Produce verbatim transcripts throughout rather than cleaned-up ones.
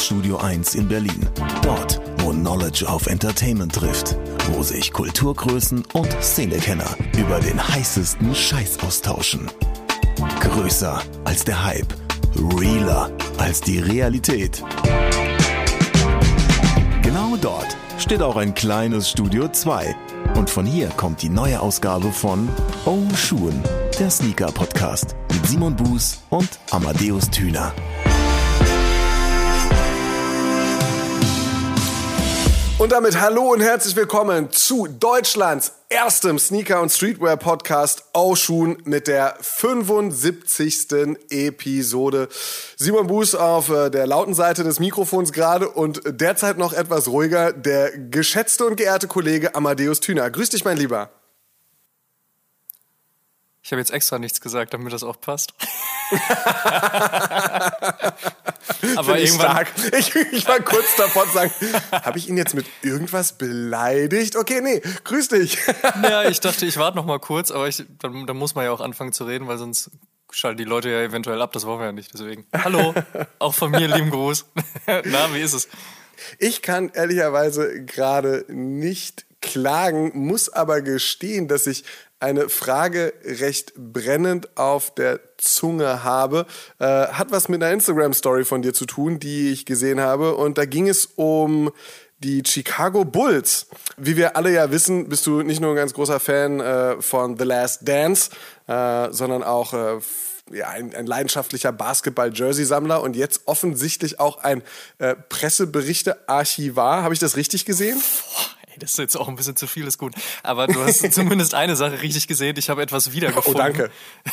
Studio eins in Berlin. Dort, wo Knowledge auf Entertainment trifft. Wo sich Kulturgrößen und Szenekenner über den heißesten Scheiß austauschen. Größer als der Hype. Realer als die Realität. Genau dort steht auch ein kleines Studio zwei. Und von hier kommt die neue Ausgabe von Oh Schuhen, der Sneaker-Podcast mit Simon Buß und Amadeus Thüner. Und damit hallo und herzlich willkommen zu Deutschlands erstem Sneaker- und Streetwear-Podcast Oh Schuhen mit der fünfundsiebzigsten Episode. Simon Buß auf äh, der lauten Seite des Mikrofons gerade und derzeit noch etwas ruhiger der geschätzte und geehrte Kollege Amadeus Thüner. Grüß dich, mein Lieber. Ich habe jetzt extra nichts gesagt, damit das auch passt. Aber ich irgendwann... stark. Ich, ich war kurz davor zu sagen, habe ich ihn jetzt mit irgendwas beleidigt? Okay, nee, grüß dich. Ja, ich dachte, ich warte noch mal kurz, aber ich, dann, dann muss man ja auch anfangen zu reden, weil sonst schalten die Leute ja eventuell ab. Das wollen wir ja nicht, deswegen. Hallo, auch von mir lieben Gruß. Na, wie ist es? Ich kann ehrlicherweise gerade nicht klagen, muss aber gestehen, dass ich eine Frage recht brennend auf der Zunge habe. Äh, hat was mit einer Instagram-Story von dir zu tun, die ich gesehen habe. Und da ging es um die Chicago Bulls. Wie wir alle ja wissen, bist du nicht nur ein ganz großer Fan äh, von The Last Dance, äh, sondern auch äh, ja, ein, ein leidenschaftlicher Basketball-Jersey-Sammler und jetzt offensichtlich auch ein äh, Presseberichte-Archivar. Habe ich das richtig gesehen? Das ist jetzt auch ein bisschen zu viel, ist gut. Aber du hast zumindest eine Sache richtig gesehen. Ich habe etwas wiedergefunden. Oh, danke.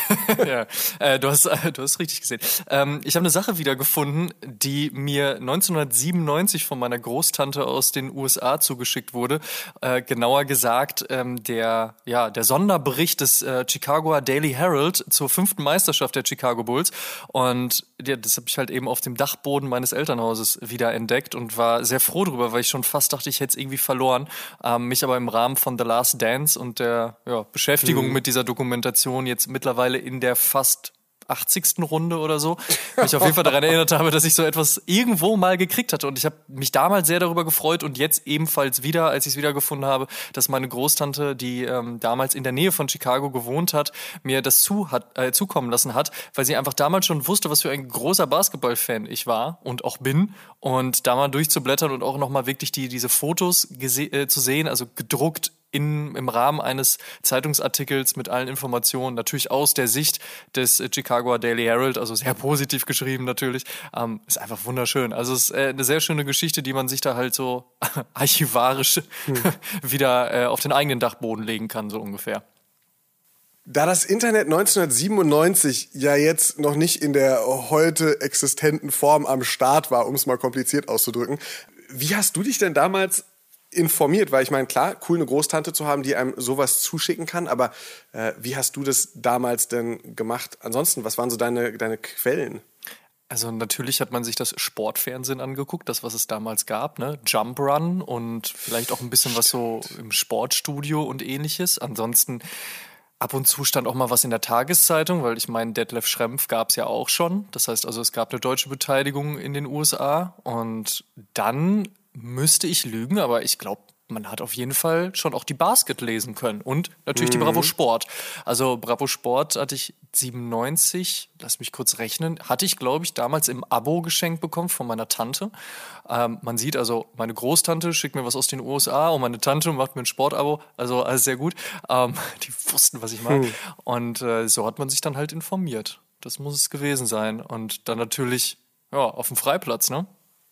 ja, äh, du hast, äh, du hast richtig gesehen. Ähm, ich habe eine Sache wiedergefunden, die mir neunzehnhundertsiebenundneunzig von meiner Großtante aus den U S A zugeschickt wurde. Äh, genauer gesagt, ähm, der, ja, der Sonderbericht des äh, Chicagoer Daily Herald zur fünften Meisterschaft der Chicago Bulls. Und ja, das habe ich halt eben auf dem Dachboden meines Elternhauses wieder entdeckt und war sehr froh drüber, weil ich schon fast dachte, ich hätte es irgendwie verloren. Ähm, mich aber im Rahmen von The Last Dance und der ja, Beschäftigung mhm. mit dieser Dokumentation jetzt mittlerweile in der fast achtzigsten Runde oder so, mich auf jeden Fall daran erinnert habe, dass ich so etwas irgendwo mal gekriegt hatte. Und ich habe mich damals sehr darüber gefreut und jetzt ebenfalls wieder, als ich es wiedergefunden habe, dass meine Großtante, die ähm, damals in der Nähe von Chicago gewohnt hat, mir das zu hat, äh, zukommen lassen hat, weil sie einfach damals schon wusste, was für ein großer Basketball-Fan ich war und auch bin. Und da mal durchzublättern und auch nochmal wirklich die diese Fotos gese- äh, zu sehen, also gedruckt In, im Rahmen eines Zeitungsartikels mit allen Informationen, natürlich aus der Sicht des Chicagoer Daily Herald, also sehr positiv geschrieben natürlich, ähm, ist einfach wunderschön. Also es ist äh, eine sehr schöne Geschichte, die man sich da halt so archivarisch hm. wieder äh, auf den eigenen Dachboden legen kann, so ungefähr. Da das Internet neunzehnhundertsiebenundneunzig ja jetzt noch nicht in der heute existenten Form am Start war, um es mal kompliziert auszudrücken, wie hast du dich denn damals informiert? Weil ich meine, klar, cool, eine Großtante zu haben, die einem sowas zuschicken kann, aber äh, wie hast du das damals denn gemacht? Ansonsten, was waren so deine, deine Quellen? Also natürlich hat man sich das Sportfernsehen angeguckt, das, was es damals gab, ne? Jump Run und vielleicht auch ein bisschen was so im Sportstudio und ähnliches. Ansonsten ab und zu stand auch mal was in der Tageszeitung, weil ich meine, Detlef Schrempf gab es ja auch schon. Das heißt also, es gab eine deutsche Beteiligung in den U S A und dann müsste ich lügen, aber ich glaube, man hat auf jeden Fall schon auch die Basket lesen können und natürlich mhm. die Bravo Sport. Also Bravo Sport hatte ich siebenundneunzig, lass mich kurz rechnen, hatte ich, glaube ich, damals im Abo geschenkt bekommen von meiner Tante. Ähm, man sieht also, meine Großtante schickt mir was aus den U S A und meine Tante macht mir ein Sportabo, also alles sehr gut. Ähm, die wussten, was ich meine. Mhm. Und äh, so hat man sich dann halt informiert. Das muss es gewesen sein. Und dann natürlich ja, auf dem Freiplatz, ne?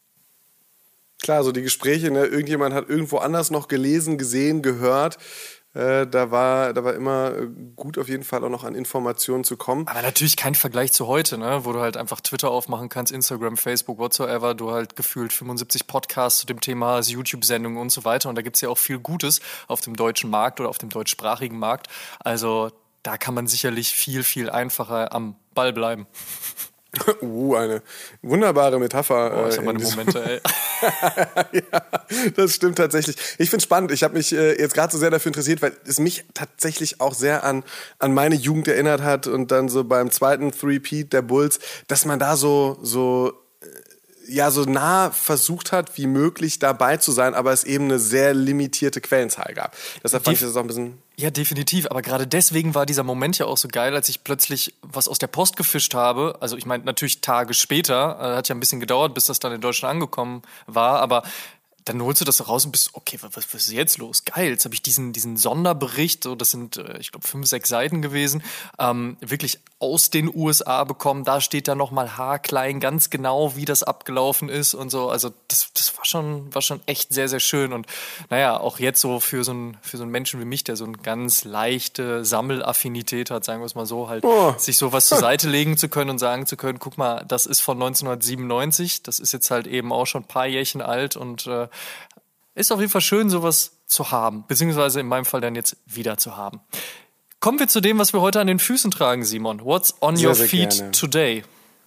Klar, so die Gespräche, ne? Irgendjemand hat irgendwo anders noch gelesen, gesehen, gehört. Äh, da war, da war immer gut auf jeden Fall auch noch an Informationen zu kommen. Aber natürlich kein Vergleich zu heute, ne? Wo du halt einfach Twitter aufmachen kannst, Instagram, Facebook, whatsoever. Du halt gefühlt fünfundsiebzig Podcasts zu dem Thema, YouTube-Sendungen und so weiter. Und da gibt's ja auch viel Gutes auf dem deutschen Markt oder auf dem deutschsprachigen Markt. Also da kann man sicherlich viel, viel einfacher am Ball bleiben. Uh, eine wunderbare Metapher. Oh, ich habe meine Momente, ey. Ja, das stimmt tatsächlich. Ich finde es spannend. Ich habe mich äh, jetzt gerade so sehr dafür interessiert, weil es mich tatsächlich auch sehr an, an meine Jugend erinnert hat und dann so beim zweiten Three-Peat der Bulls, dass man da so, so ja so nah versucht hat, wie möglich dabei zu sein, aber es eben eine sehr limitierte Quellenzahl gab. Deshalb fand ich das auch ein bisschen... Ja, definitiv. Aber gerade deswegen war dieser Moment ja auch so geil, als ich plötzlich was aus der Post gefischt habe. Also ich meine, natürlich Tage später. Äh, hat ja ein bisschen gedauert, bis das dann in Deutschland angekommen war. Aber dann holst du das raus und bist, okay, was, was ist jetzt los? Geil, jetzt habe ich diesen, diesen Sonderbericht, so das sind, äh, ich glaube, fünf, sechs Seiten gewesen, ähm, wirklich aus den U S A bekommen. Da steht dann nochmal haarklein ganz genau, wie das abgelaufen ist und so. Also das, das war schon, war schon echt sehr, sehr schön. Und naja, auch jetzt so für so einen, für so einen Menschen wie mich, der so eine ganz leichte Sammelaffinität hat, sagen wir es mal so, halt oh. sich sowas zur Seite legen zu können und sagen zu können, guck mal, das ist von neunzehnhundertsiebenundneunzig, das ist jetzt halt eben auch schon ein paar Jährchen alt und äh, ist auf jeden Fall schön, sowas zu haben, beziehungsweise in meinem Fall dann jetzt wieder zu haben. Kommen wir zu dem, was wir heute an den Füßen tragen, Simon. What's on sehr, your sehr feet gerne. Today?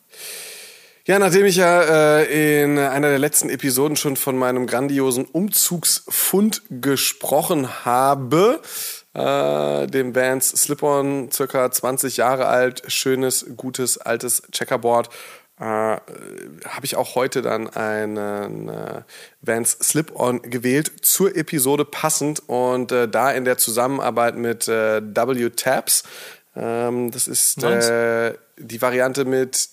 Ja, nachdem ich ja äh, in einer der letzten Episoden schon von meinem grandiosen Umzugsfund gesprochen habe, äh, dem Vans Slip-On, circa zwanzig Jahre alt, schönes, gutes, altes Checkerboard, äh, habe ich auch heute dann einen äh, Vans Slip-On gewählt, zur Episode passend und äh, da in der Zusammenarbeit mit äh, W-Tabs. Ähm, das ist nice. äh, die Variante mit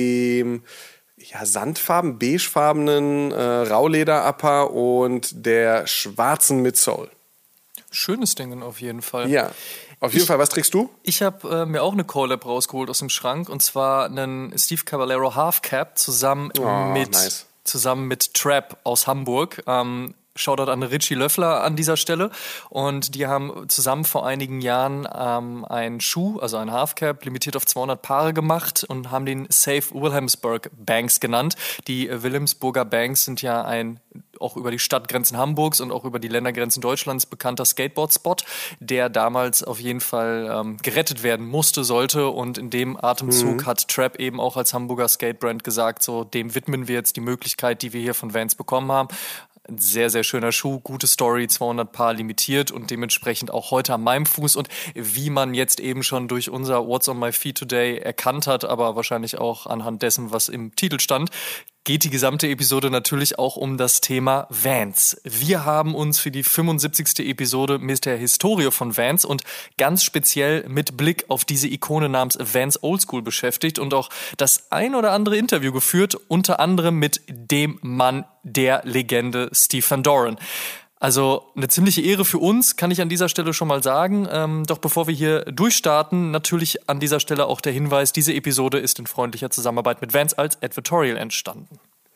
dem ja, sandfarben, beigefarbenen äh, Rauleder-Upper und der schwarzen Midsole. Schönes Ding auf jeden Fall. Ja. Auf jeden ich, Fall, was trägst du? Ich habe äh, mir auch eine Collab rausgeholt aus dem Schrank und zwar einen Steve Caballero Half Cap zusammen oh, mit nice. zusammen mit Trap aus Hamburg. Ähm, Shoutout an Richie Löffler an dieser Stelle. Und die haben zusammen vor einigen Jahren ähm, einen Schuh, also einen Halfcap, limitiert auf zweihundert Paare gemacht und haben den Safe Wilhelmsburg Banks genannt. Die äh, Wilhelmsburger Banks sind ja ein auch über die Stadtgrenzen Hamburgs und auch über die Ländergrenzen Deutschlands bekannter Skateboard-Spot, der damals auf jeden Fall ähm, gerettet werden musste, sollte. Und in dem Atemzug mhm. hat Trap eben auch als Hamburger Skatebrand gesagt, so dem widmen wir jetzt die Möglichkeit, die wir hier von Vans bekommen haben. Ein sehr, sehr schöner Schuh, gute Story, zweihundert Paar limitiert und dementsprechend auch heute an meinem Fuß. Und wie man jetzt eben schon durch unser What's on my feet today erkannt hat, aber wahrscheinlich auch anhand dessen, was im Titel stand, geht die gesamte Episode natürlich auch um das Thema Vans. Wir haben uns für die fünfundsiebzigste Episode mit der Historie von Vans und ganz speziell mit Blick auf diese Ikone namens Vans Oldschool beschäftigt und auch das ein oder andere Interview geführt, unter anderem mit dem Mann der Legende Steve Van Doren. Also eine ziemliche Ehre für uns, kann ich an dieser Stelle schon mal sagen. Ähm, doch bevor wir hier durchstarten, natürlich an dieser Stelle auch der Hinweis, diese Episode ist in freundlicher Zusammenarbeit mit Vans als Advertorial entstanden.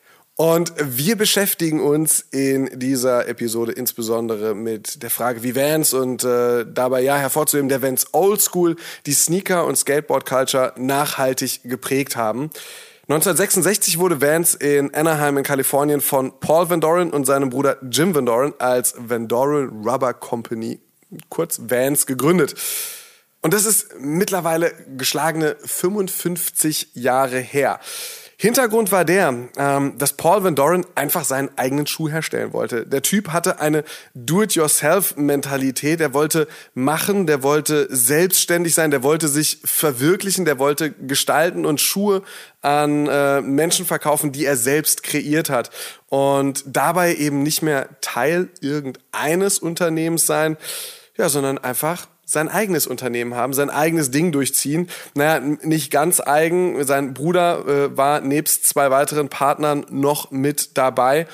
Und wir beschäftigen uns in dieser Episode insbesondere mit der Frage, wie Vans und äh, dabei ja hervorzuheben, der Vans Oldschool die Sneaker- und Skateboard-Culture nachhaltig geprägt haben. neunzehnhundertsechsundsechzig wurde Vans in Anaheim in Kalifornien von Paul Van Doren und seinem Bruder Jim Van Doren als Van Doren Rubber Company, kurz Vans, gegründet. Und das ist mittlerweile geschlagene fünfundfünfzig Jahre her. Hintergrund war der, ähm, dass Paul Van Doren einfach seinen eigenen Schuh herstellen wollte. Der Typ hatte eine Do-it-yourself-Mentalität. Der wollte machen, der wollte selbstständig sein, der wollte sich verwirklichen, der wollte gestalten und Schuhe an äh, Menschen verkaufen, die er selbst kreiert hat. Und dabei eben nicht mehr Teil irgendeines Unternehmens sein, ja, sondern einfach sein eigenes Unternehmen haben, sein eigenes Ding durchziehen. Naja, nicht ganz eigen. Sein Bruder äh, war nebst zwei weiteren Partnern noch mit dabei.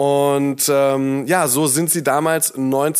Und ähm, ja, so sind sie damals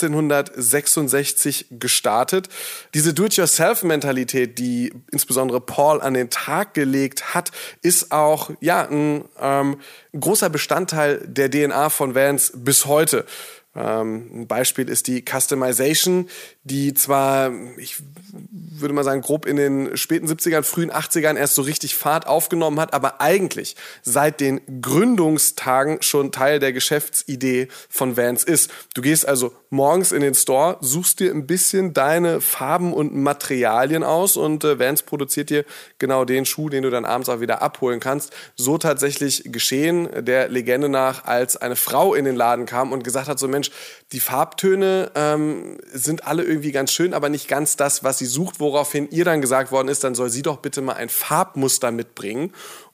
neunzehnhundertsechsundsechzig gestartet. Diese Do-it-yourself-Mentalität, die insbesondere Paul an den Tag gelegt hat, ist auch ja ein ähm, großer Bestandteil der D N A von Vans bis heute. Ähm, ein Beispiel ist die Customization, die zwar, ich würde mal sagen, grob in den späten siebzigern, frühen achtzigern erst so richtig Fahrt aufgenommen hat, aber eigentlich seit den Gründungstagen schon Teil der Geschäftsidee von Vans ist. Du gehst also morgens in den Store, suchst dir ein bisschen deine Farben und Materialien aus und äh, Vans produziert dir genau den Schuh, den du dann abends auch wieder abholen kannst. So tatsächlich geschehen, der Legende nach, als eine Frau in den Laden kam und gesagt hat, so Mensch, Mensch, die Farbtöne ähm, sind alle irgendwie ganz schön, aber nicht ganz das, was sie sucht, woraufhin ihr dann gesagt worden ist, dann soll sie doch bitte mal ein Farbmuster mitbringen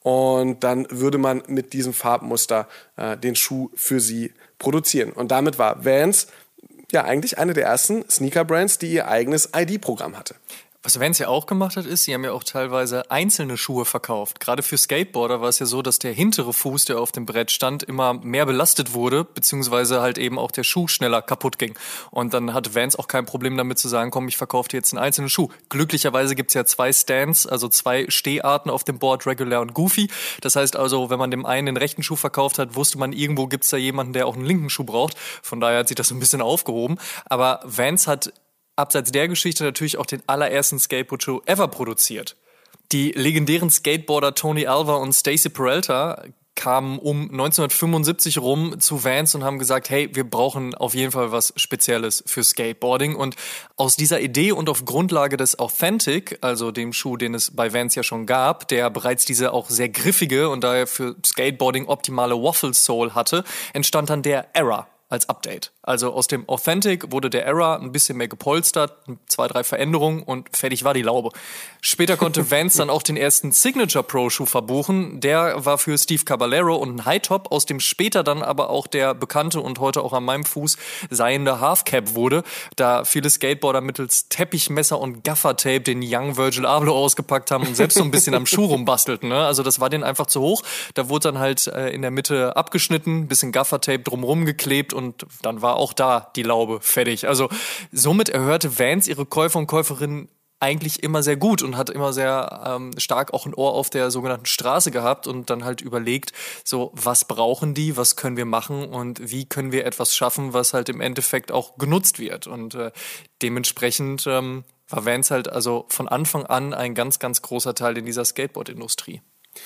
und dann würde man mit diesem Farbmuster äh, den Schuh für sie produzieren. Und damit war Vans ja eigentlich eine der ersten Sneaker-Brands, die ihr eigenes I D-Programm hatte. Was Vans ja auch gemacht hat, ist, sie haben ja auch teilweise einzelne Schuhe verkauft. Gerade für Skateboarder war es ja so, dass der hintere Fuß, der auf dem Brett stand, immer mehr belastet wurde, beziehungsweise halt eben auch der Schuh schneller kaputt ging. Und dann hatte Vans auch kein Problem damit zu sagen, komm, ich verkaufe dir jetzt einen einzelnen Schuh. Glücklicherweise gibt's ja zwei Stands, also zwei Steharten auf dem Board, Regular und Goofy. Das heißt also, wenn man dem einen den rechten Schuh verkauft hat, wusste man, irgendwo gibt's da jemanden, der auch einen linken Schuh braucht. Von daher hat sich das so ein bisschen aufgehoben. Aber Vans hat abseits der Geschichte natürlich auch den allerersten Skateboard-Schuh ever produziert. Die legendären Skateboarder Tony Alva und Stacy Peralta kamen um neunzehnhundertfünfundsiebzig rum zu Vans und haben gesagt, hey, wir brauchen auf jeden Fall was Spezielles für Skateboarding. Und aus dieser Idee und auf Grundlage des Authentic, also dem Schuh, den es bei Vans ja schon gab, der bereits diese auch sehr griffige und daher für Skateboarding optimale Waffle Sole hatte, entstand dann der Era als Update. Also aus dem Authentic wurde der Era ein bisschen mehr gepolstert, zwei, drei Veränderungen und fertig war die Laube. Später konnte Vans dann auch den ersten Signature Pro Schuh verbuchen. Der war für Steve Caballero und ein High Top, aus dem später dann aber auch der bekannte und heute auch an meinem Fuß seiende Half Cap wurde, da viele Skateboarder mittels Teppichmesser und Gaffertape den Young Virgil Abloh ausgepackt haben und selbst so ein bisschen am Schuh rumbastelten. Ne? Also das war denen einfach zu hoch. Da wurde dann halt äh, in der Mitte abgeschnitten, bisschen Gaffertape drumrum geklebt und dann war auch da die Laube fertig. Also somit erhörte Vans ihre Käufer und Käuferinnen eigentlich immer sehr gut und hat immer sehr ähm, stark auch ein Ohr auf der sogenannten Straße gehabt und dann halt überlegt, so was brauchen die, was können wir machen und wie können wir etwas schaffen, was halt im Endeffekt auch genutzt wird. Und äh, dementsprechend ähm, war Vans halt also von Anfang an ein ganz, ganz großer Teil in dieser Skateboard-Industrie.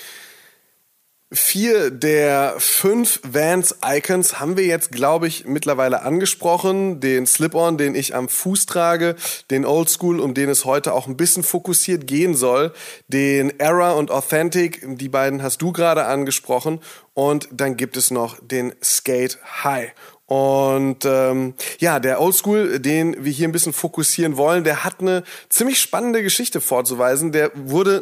Vier der fünf Vans-Icons haben wir jetzt, glaube ich, mittlerweile angesprochen. Den Slip-On, den ich am Fuß trage, den Oldschool, um den es heute auch ein bisschen fokussiert gehen soll, den Era und Authentic, die beiden hast du gerade angesprochen, und dann gibt es noch den Skate High. Und ähm, ja, der Oldschool, den wir hier ein bisschen fokussieren wollen, der hat eine ziemlich spannende Geschichte vorzuweisen. Der wurde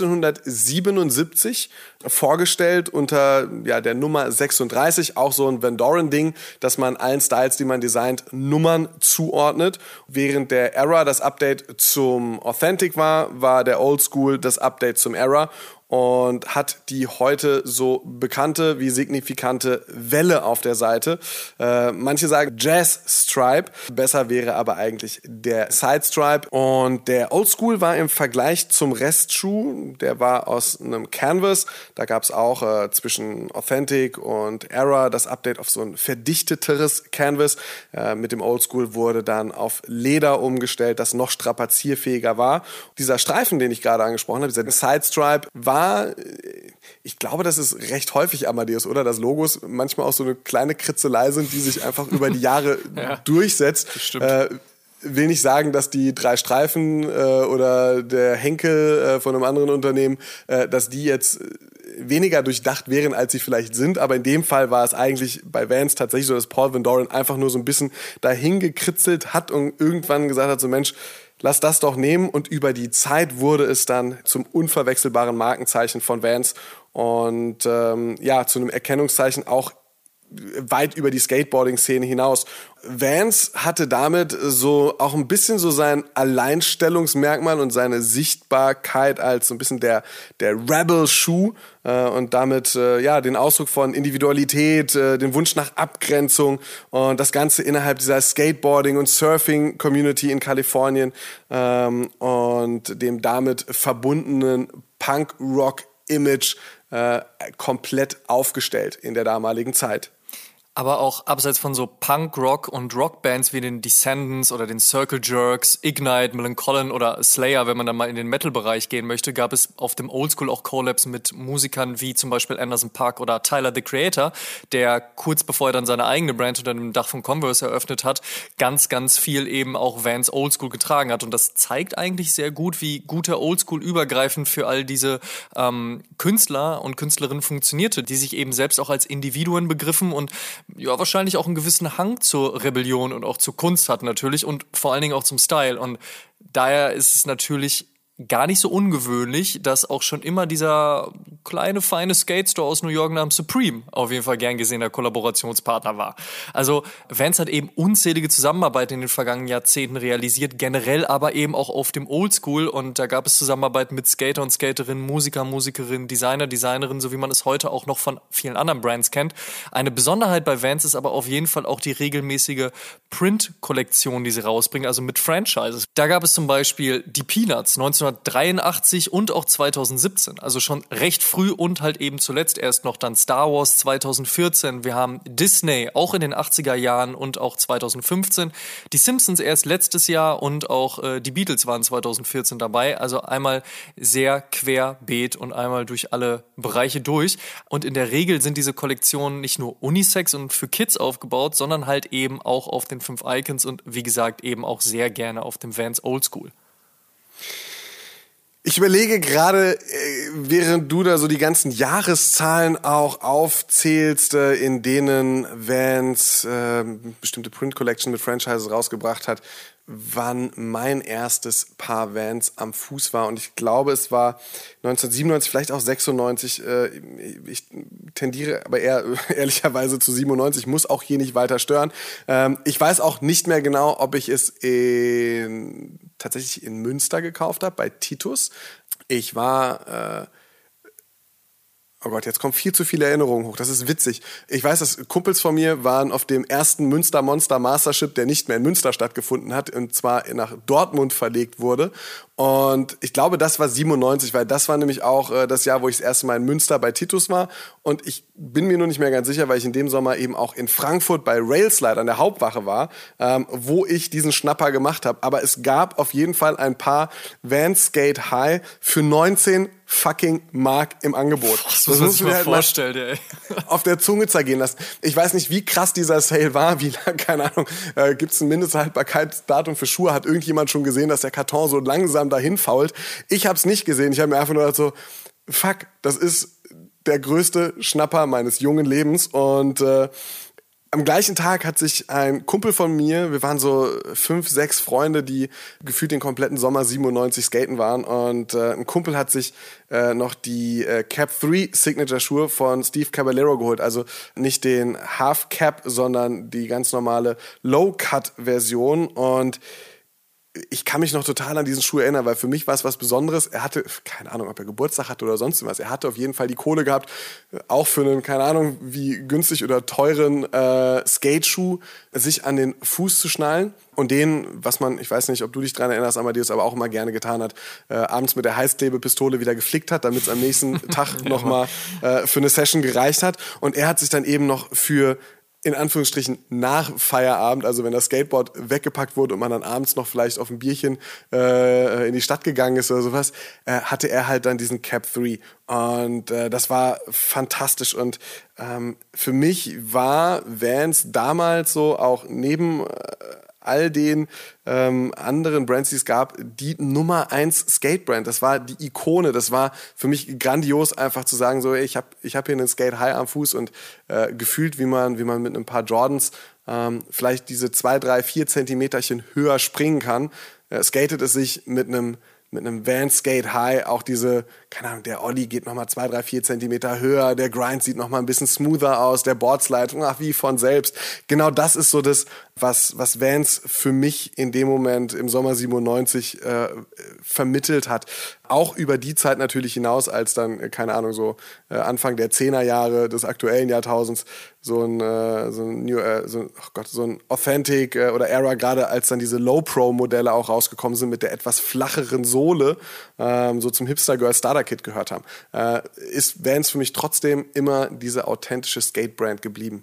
neunzehnhundertsiebenundsiebzig vorgestellt unter ja der Nummer sechsunddreißig, auch so ein Van Doren-Ding, dass man allen Styles, die man designt, Nummern zuordnet. Während der Era das Update zum Authentic war, war der Oldschool das Update zum Era. Und hat die heute so bekannte wie signifikante Welle auf der Seite. Äh, manche sagen Jazz Stripe, besser wäre aber eigentlich der Side Stripe. Und der Oldschool war im Vergleich zum Restschuh, der war aus einem Canvas. Da gab es auch äh, zwischen Authentic und Era das Update auf so ein verdichteteres Canvas. Äh, mit dem Oldschool wurde dann auf Leder umgestellt, das noch strapazierfähiger war. Dieser Streifen, den ich gerade angesprochen habe, dieser Side Stripe, war ich glaube, das ist recht häufig Amadeus, oder? Dass Logos manchmal auch so eine kleine Kritzelei sind, die sich einfach über die Jahre ja, durchsetzt. Das stimmt. Äh, will nicht sagen, dass die drei Streifen äh, oder der Henkel äh, von einem anderen Unternehmen, äh, dass die jetzt weniger durchdacht wären, als sie vielleicht sind. Aber in dem Fall war es eigentlich bei Vans tatsächlich so, dass Paul Van Doren einfach nur so ein bisschen dahin gekritzelt hat und irgendwann gesagt hat, so Mensch, lass das doch nehmen, und über die Zeit wurde es dann zum unverwechselbaren Markenzeichen von Vans und ähm, ja, zu einem Erkennungszeichen auch weit über die Skateboarding-Szene hinaus. Vans hatte damit so auch ein bisschen so sein Alleinstellungsmerkmal und seine Sichtbarkeit als so ein bisschen der der Rebel-Schuh äh, und damit äh, ja den Ausdruck von Individualität, äh, den Wunsch nach Abgrenzung und das Ganze innerhalb dieser Skateboarding- und Surfing-Community in Kalifornien ähm, und dem damit verbundenen Punk-Rock-Image äh, komplett aufgestellt in der damaligen Zeit. Aber auch abseits von so Punk, Rock und Rockbands wie den Descendants oder den Circle Jerks, Ignite, Millencolin oder Slayer, wenn man dann mal in den Metal-Bereich gehen möchte, gab es auf dem Oldschool auch Collabs mit Musikern wie zum Beispiel Anderson .Paak oder Tyler, the Creator, der kurz bevor er dann seine eigene Brand unter dem Dach von Converse eröffnet hat, ganz, ganz viel eben auch Vans Oldschool getragen hat. Und das zeigt eigentlich sehr gut, wie guter Oldschool übergreifend für all diese ähm, Künstler und Künstlerinnen funktionierte, die sich eben selbst auch als Individuen begriffen und ja wahrscheinlich auch einen gewissen Hang zur Rebellion und auch zur Kunst hat natürlich und vor allen Dingen auch zum Style. Und daher ist es natürlich gar nicht so ungewöhnlich, dass auch schon immer dieser kleine, feine Skate-Store aus New York namens Supreme auf jeden Fall gern gesehener Kollaborationspartner war. Also Vans hat eben unzählige Zusammenarbeiten in den vergangenen Jahrzehnten realisiert, generell aber eben auch auf dem Oldschool. Und da gab es Zusammenarbeiten mit Skater und Skaterinnen, Musiker, Musikerinnen, Designer, Designerinnen, so wie man es heute auch noch von vielen anderen Brands kennt. Eine Besonderheit bei Vans ist aber auf jeden Fall auch die regelmäßige Print-Kollektion, die sie rausbringen, also mit Franchises. Da gab es zum Beispiel die Peanuts neunzehnhundertdreiundachtzig und auch zweitausendsiebzehn, also schon recht früh und halt eben zuletzt erst noch dann Star Wars zweitausendvierzehn. Wir haben Disney auch in den achtziger Jahren und auch zweitausendfünfzehn. Die Simpsons erst letztes Jahr und auch äh, die Beatles waren zweitausendvierzehn dabei. Also einmal sehr querbeet und einmal durch alle Bereiche durch. Und in der Regel sind diese Kollektionen nicht nur Unisex und für Kids aufgebaut, sondern halt eben auch auf den fünf Icons und wie gesagt eben auch sehr gerne auf dem Vans Oldschool. Ich überlege gerade, während du da so die ganzen Jahreszahlen auch aufzählst, in denen Vans äh, bestimmte Print Collection mit Franchises rausgebracht hat, wann mein erstes Paar Vans am Fuß war. Und ich glaube, es war neunzehnhundertsiebenundneunzig, vielleicht auch sechsundneunzig. Ich tendiere aber eher ehrlicherweise zu siebenundneunzig, muss auch hier nicht weiter stören. Ich weiß auch nicht mehr genau, ob ich es in, tatsächlich in Münster gekauft habe, bei Titus. Ich war... Äh, Oh Gott, jetzt kommen viel zu viele Erinnerungen hoch. Das ist witzig. Ich weiß, dass Kumpels von mir waren auf dem ersten Münster Monster Mastership, der nicht mehr in Münster stattgefunden hat, und zwar nach Dortmund verlegt wurde. Und ich glaube, das war siebenundneunzig, weil das war nämlich auch äh, das Jahr, wo ich das erste Mal in Münster bei Titus war. Und ich bin mir nur nicht mehr ganz sicher, weil ich in dem Sommer eben auch in Frankfurt bei Railslide an der Hauptwache war, ähm, wo ich diesen Schnapper gemacht habe. Aber es gab auf jeden Fall ein paar Vans Skate High für neunzehn fucking Mark im Angebot. Das, das muss man sich mal vorstellen, ey. Auf der Zunge zergehen lassen. Ich weiß nicht, wie krass dieser Sale war, wie lang, keine Ahnung, äh, gibt es ein Mindesthaltbarkeitsdatum für Schuhe? Hat irgendjemand schon gesehen, dass der Karton so langsam dahin fault? Ich habe es nicht gesehen. Ich habe mir einfach nur gedacht so, fuck, das ist der größte Schnapper meines jungen Lebens. Und äh, am gleichen Tag hat sich ein Kumpel von mir, wir waren so fünf, sechs Freunde, die gefühlt den kompletten Sommer siebenundneunzig skaten waren, und äh, ein Kumpel hat sich äh, noch die äh, Cap drei Signature Schuhe von Steve Caballero geholt, also nicht den Half Cap, sondern die ganz normale Low Cut Version. Und ich kann mich noch total an diesen Schuh erinnern, weil für mich war es was Besonderes. Er hatte, keine Ahnung, ob er Geburtstag hatte oder sonst was. Er hatte auf jeden Fall die Kohle gehabt, auch für einen, keine Ahnung, wie günstig oder teuren äh, Skate-Schuh sich an den Fuß zu schnallen. Und den, was man, ich weiß nicht, ob du dich dran erinnerst, Amadeus, aber auch immer gerne getan hat, äh, abends mit der Heißklebepistole wieder geflickt hat, damit es am nächsten Tag ja. nochmal äh, für eine Session gereicht hat. Und er hat sich dann eben noch für in Anführungsstrichen nach Feierabend, also wenn das Skateboard weggepackt wurde und man dann abends noch vielleicht auf ein Bierchen äh, in die Stadt gegangen ist oder sowas, äh, hatte er halt dann diesen Cap drei. Und äh, das war fantastisch. Und ähm, für mich war Vans damals so auch neben äh, all den ähm, anderen Brands, die es gab, die Nummer eins Skate-Brand. Das war die Ikone. Das war für mich grandios, einfach zu sagen, so, ey, ich habe ich hab hier einen Skate-High am Fuß und äh, gefühlt, wie man, wie man mit ein paar Jordans ähm, vielleicht diese zwei, drei, vier Zentimeterchen höher springen kann, äh, skatet es sich mit einem mit einem Vans Skate High, auch diese, keine Ahnung, der Ollie geht nochmal zwei, drei, vier Zentimeter höher, der Grind sieht nochmal ein bisschen smoother aus, der Boardslide, ach, wie von selbst. Genau das ist so das, was, was Vans für mich in dem Moment im Sommer siebenundneunzig äh, vermittelt hat. Auch über die Zeit natürlich hinaus, als dann, keine Ahnung, so äh, Anfang der Zehnerjahre des aktuellen Jahrtausends so ein, äh, so ein, New, äh, so, oh Gott, so ein Authentic äh, oder Era, gerade als dann diese Low-Pro-Modelle auch rausgekommen sind mit der etwas flacheren Sohle, ähm, so zum Hipster-Girl-Starter-Kit gehört haben, äh, ist Vans für mich trotzdem immer diese authentische Skate-Brand geblieben.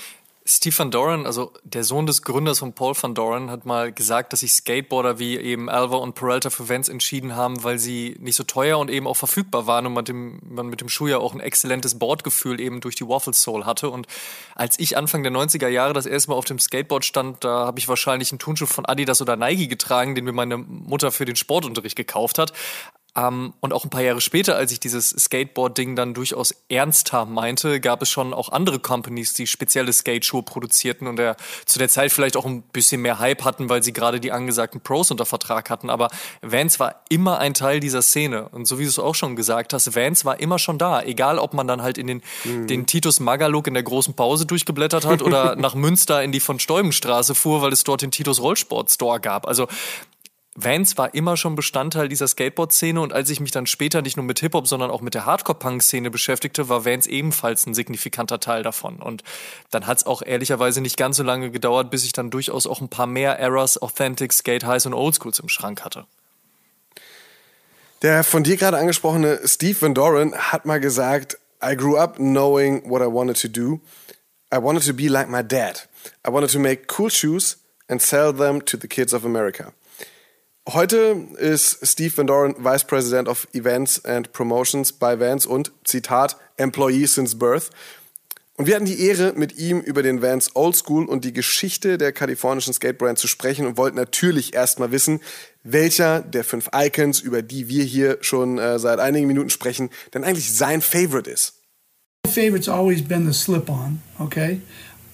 Steve Van Doren, also der Sohn des Gründers von Paul Van Doren, hat mal gesagt, dass sich Skateboarder wie eben Alva und Peralta für Vans entschieden haben, weil sie nicht so teuer und eben auch verfügbar waren und man, dem, man mit dem Schuh ja auch ein exzellentes Boardgefühl eben durch die Waffle Sole hatte. Und als ich Anfang der neunziger Jahre das erste Mal auf dem Skateboard stand, da habe ich wahrscheinlich einen Turnschuh von Adidas oder Nike getragen, den mir meine Mutter für den Sportunterricht gekauft hat. Um, und auch ein paar Jahre später, als ich dieses Skateboard-Ding dann durchaus ernster meinte, gab es schon auch andere Companies, die spezielle Skateschuhe produzierten und der, zu der Zeit vielleicht auch ein bisschen mehr Hype hatten, weil sie gerade die angesagten Pros unter Vertrag hatten. Aber Vans war immer ein Teil dieser Szene. Und so wie du es auch schon gesagt hast, Vans war immer schon da. Egal, ob man dann halt in den, mhm. den Titus Magaluk in der großen Pause durchgeblättert hat oder nach Münster in die von Steubenstraße fuhr, weil es dort den Titus Rollsport Store gab. Also Vans war immer schon Bestandteil dieser Skateboard-Szene und als ich mich dann später nicht nur mit Hip-Hop, sondern auch mit der Hardcore-Punk-Szene beschäftigte, war Vans ebenfalls ein signifikanter Teil davon. Und dann hat es auch ehrlicherweise nicht ganz so lange gedauert, bis ich dann durchaus auch ein paar mehr Eras, Authentic, Skate Highs und Oldschools im Schrank hatte. Der von dir gerade angesprochene Steve Van Doren hat mal gesagt, I grew up knowing what I wanted to do. I wanted to be like my dad. I wanted to make cool shoes and sell them to the kids of America. Heute ist Steve Van Doren Vice President of Events and Promotions bei Vans und, Zitat, Employee since birth. Und wir hatten die Ehre, mit ihm über den Vans Old School und die Geschichte der kalifornischen Skatebrand zu sprechen und wollten natürlich erstmal wissen, welcher der fünf Icons, über die wir hier schon äh, seit einigen Minuten sprechen, denn eigentlich sein Favorite ist. My favorite's always been the slip-on, okay?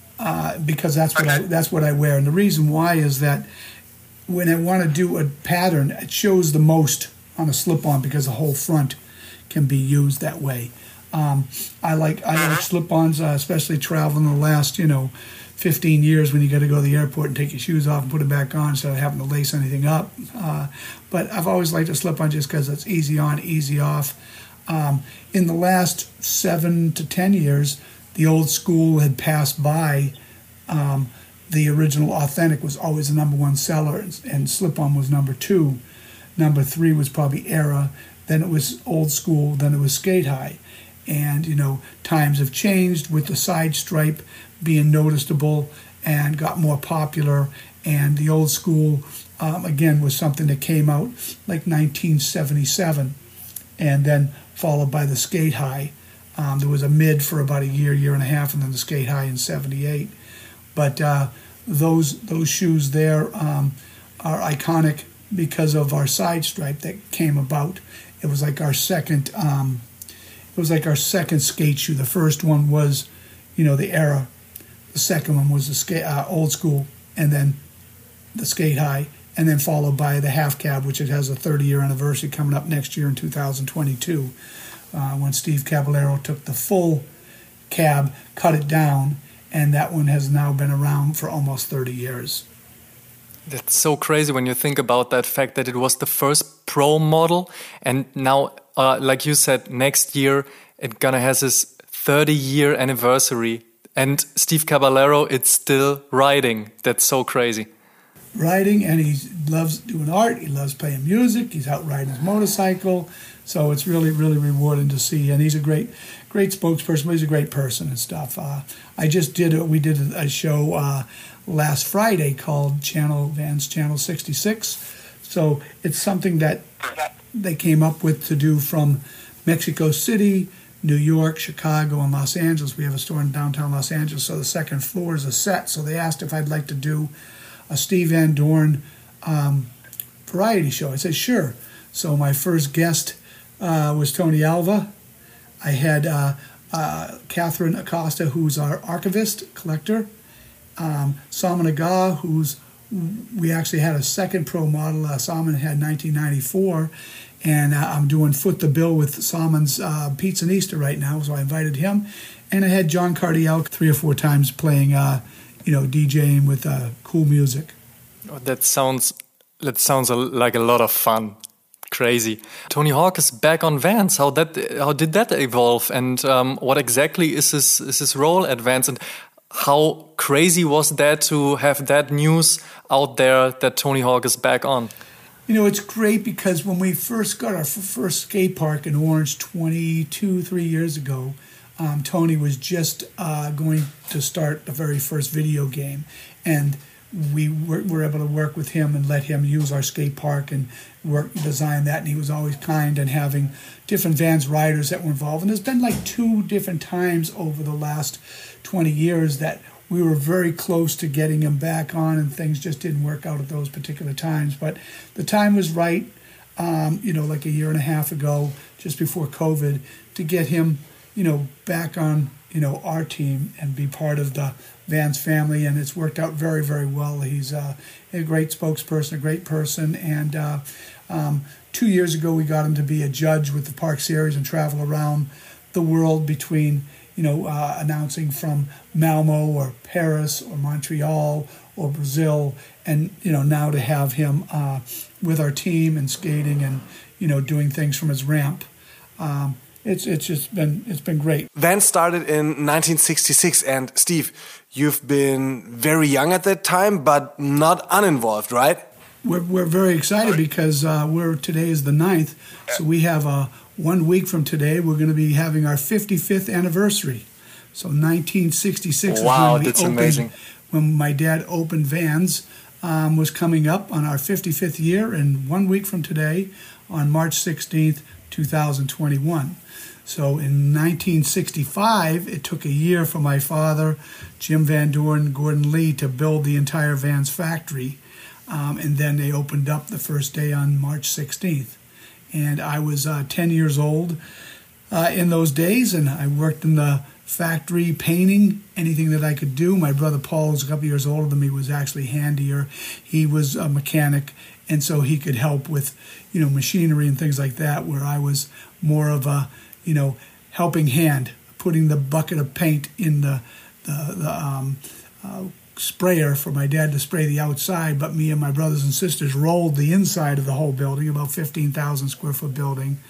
Uh, because that's what I that's what I wear, and the reason why is that when I want to do a pattern, it shows the most on a slip-on because the whole front can be used that way. Um, I like I like slip-ons, uh, especially traveling the last, you know, fifteen years when you got to go to the airport and take your shoes off and put them back on instead of having to lace anything up. Uh, but I've always liked a slip-on just because it's easy on, easy off. Um, in the last seven to ten years, the Old School had passed by. Um, The original Authentic was always the number one seller, and Slip-On was number two. Number three was probably Era. Then it was Old School. Then it was Skate High. And, you know, times have changed with the side stripe being noticeable and got more popular. And the Old School, um, again, was something that came out like nineteen seventy-seven. And then followed by the Skate High. Um, there was a mid for about a year, year and a half, and then the Skate High in seventy-eight. But uh, those those shoes there um, are iconic because of our side stripe that came about. It was like our second, um, it was like our second skate shoe. The first one was, you know, the Era. The second one was the skate, uh, Old School, and then the Skate High, and then followed by the Half Cab, which it has a thirty-year anniversary coming up next year in two thousand twenty-two, uh, when Steve Caballero took the full cab, cut it down. And that one has now been around for almost thirty years. That's so crazy when you think about that fact that it was the first pro model. And now, uh, like you said, next year it gonna has its thirty-year anniversary. And Steve Caballero, it's still riding. That's so crazy. Riding, and he loves doing art. He loves playing music. He's out riding his motorcycle. So it's really, really rewarding to see. And he's a great, great spokesperson. But he's a great person and stuff. Uh, I just did a, we did a show uh, last Friday called Channel Vans Channel sixty-six. So it's something that they came up with to do from Mexico City, New York, Chicago, and Los Angeles. We have a store in downtown Los Angeles. So the second floor is a set. So they asked if I'd like to do a Steve Van Doren um, variety show. I said, sure. So my first guest uh, was Tony Alva. I had uh, uh, Catherine Acosta, who's our archivist, collector. Um, Salman Agha, who's, we actually had a second pro model. Uh, Salman had nineteen ninety-four. And uh, I'm doing Foot the Bill with Salman's uh, Pizzanista right now, so I invited him. And I had John Cardiel three or four times playing uh, you know, DJing with uh, cool music. Oh, that sounds that sounds a, like a lot of fun. Crazy. Tony Hawk is back on Vans. How that how did that evolve? And um, what exactly is his is his role at Vans? And how crazy was that to have that news out there that Tony Hawk is back on? You know, it's great because when we first got our first skate park in Orange twenty-two, three years ago, Um, Tony was just uh, going to start the very first video game, and we were, were able to work with him and let him use our skate park and work design that. And he was always kind and having different Vans riders that were involved. And there's been like two different times over the last twenty years that we were very close to getting him back on, and things just didn't work out at those particular times. But the time was right. um, you know, like a year and a half ago, just before COVID, to get him, you know, back on, you know, our team and be part of the Vans family. And it's worked out very, very well. He's uh, a great spokesperson, a great person. And uh, um, two years ago, we got him to be a judge with the Park Series and travel around the world between, you know, uh, announcing from Malmo or Paris or Montreal or Brazil, and, you know, now to have him uh, with our team and skating and, you know, doing things from his ramp. Um, it's it's just been it's been great. Vans started in nineteen sixty-six, and Steve, you've been very young at that time, but not uninvolved, right? We're we're very excited because uh, we're today is the ninth, so we have a one week from today we're going to be having our fifty-fifth anniversary. So nineteen sixty-six wow, is when we that's opened, amazing. when my dad opened Vans, um, was coming up on our fifty-fifth year, and one week from today, on March sixteenth, two thousand twenty-one. So in nineteen sixty-five, it took a year for my father, Jim Van Doren, Gordon Lee, to build the entire Vans factory. Um, and then they opened up the first day on March sixteenth. And I was uh, ten years old uh, in those days, and I worked in the factory painting anything that I could do. My brother Paul, who's a couple years older than me, was actually handier. He was a mechanic, and so he could help with, you know, machinery and things like that, where I was more of a, you know, helping hand, putting the bucket of paint in the, the, the um, uh, sprayer for my dad to spray the outside, but me and my brothers and sisters rolled the inside of the whole building, about fifteen thousand square foot building.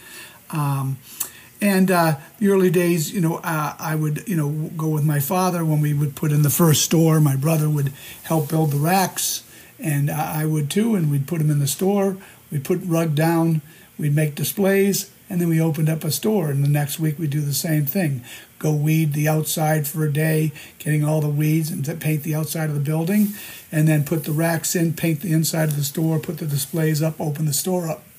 Um, and uh, the early days, you know, uh, I would, you know, go with my father when we would put in the first store. My brother would help build the racks, and uh, I would too, and we'd put them in the store. We'd put rug down, we'd make displays, and then we opened up a store, and the next week we'd do the same thing. Go weed the outside for a day, getting all the weeds, and paint the outside of the building, and then put the racks in, paint the inside of the store, put the displays up, open the store up.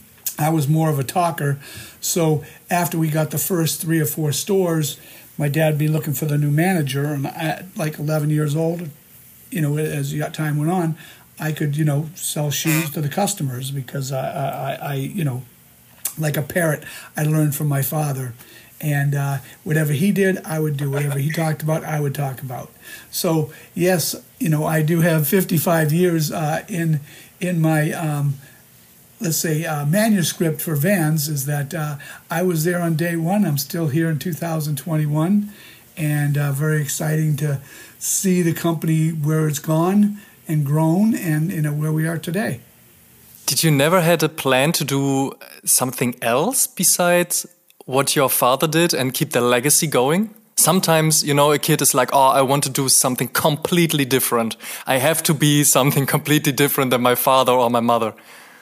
I was more of a talker, so after we got the first three or four stores, my dad would be looking for the new manager, and at like eleven years old, you know, as time went on, I could, you know, sell shoes to the customers because I, I, I you know, like a parrot, I learned from my father. And uh, whatever he did, I would do. Whatever he talked about, I would talk about. So, yes, you know, I do have fifty-five years uh, in in my, um, let's say, uh, manuscript for Vans, is that uh, I was there on day one. I'm still here in two thousand twenty-one. And uh, very exciting to see the company where it's gone and grown and, you know, where we are today. Did you never had a plan to do something else besides what your father did and keep the legacy going? Sometimes, you know, a kid is like, oh, I want to do something completely different. I have to be something completely different than my father or my mother.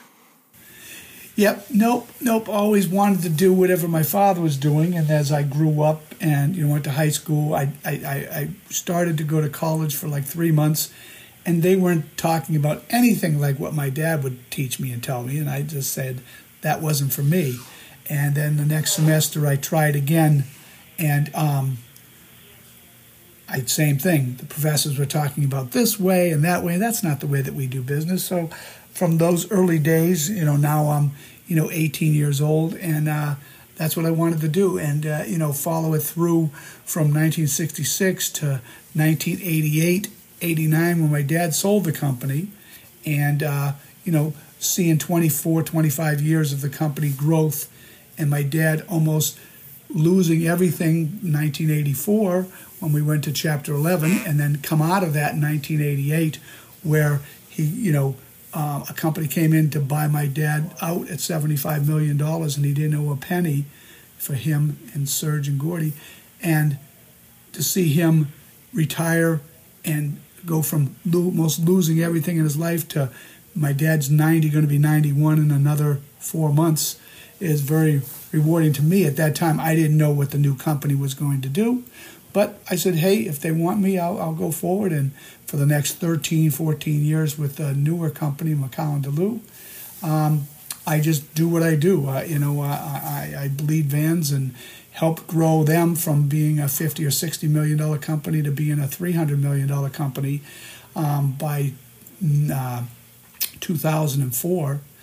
Yep, nope, nope. Always wanted to do whatever my father was doing. And as I grew up and, you know, went to high school, I, I, I started to go to college for like three months. And they weren't talking about anything like what my dad would teach me and tell me. And I just said that wasn't for me. And then the next semester I tried again, and um, I same thing. The professors were talking about this way and that way. That's not the way that we do business. So from those early days, you know, now I'm, you know, eighteen years old, and uh, that's what I wanted to do. And, uh, you know, follow it through from nineteen sixty-six to nineteen eighty-eight, eighty-nine, when my dad sold the company. And, uh, you know, seeing twenty-four, twenty-five years of the company growth, and my dad almost losing everything in nineteen eighty-four when we went to Chapter eleven, and then come out of that in nineteen eighty-eight, where he, you know, uh, a company came in to buy my dad out at seventy-five million dollars, and he didn't owe a penny for him and Serge and Gordy. And to see him retire and go from lo- most losing everything in his life to my dad's ninety, going to be ninety-one in another four months, is very rewarding to me. At that time, I didn't know what the new company was going to do. But I said, hey, if they want me, I'll, I'll go forward. And for the next thirteen, fourteen years with the newer company, McCowan DeLue, um, I just do what I do. Uh, you know, I, I, I bleed Vans and help grow them from being a fifty or sixty million dollar company to being a three hundred million dollar company um, by uh, two thousand four.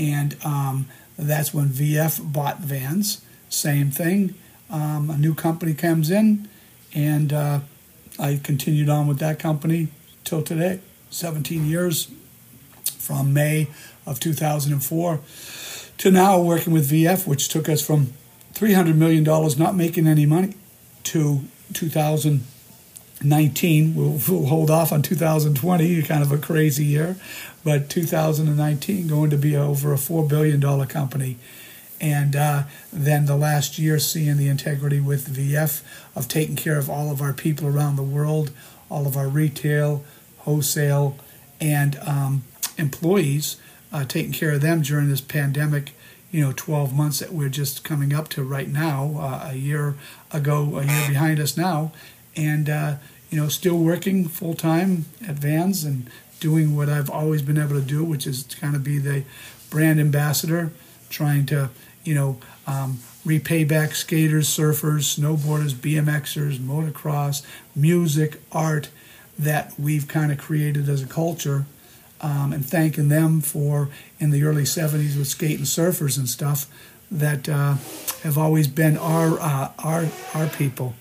And um, that's when V F bought Vans. Same thing. Um, a new company comes in, and uh, I continued on with that company till today, seventeen years, from May of two thousand four to now working with V F, which took us from three hundred million dollars not making any money to two thousand nineteen. We'll, we'll hold off on two thousand twenty, kind of a crazy year, but two thousand nineteen going to be over a four billion dollars company. And uh, then the last year seeing the integrity with V F of taking care of all of our people around the world, all of our retail, wholesale, and um, employees, uh, taking care of them during this pandemic, you know, twelve months that we're just coming up to right now, uh, a year ago, a year behind us now, and, uh, you know, still working full-time at Vans and doing what I've always been able to do, which is to kind of be the brand ambassador, trying to, you know, um, repay back skaters, surfers, snowboarders, B M Xers, motocross, music, art that we've kind of created as a culture, um, and thanking them for, in the early seventies with skating surfers and stuff, that uh, have always been our, uh, our, our people.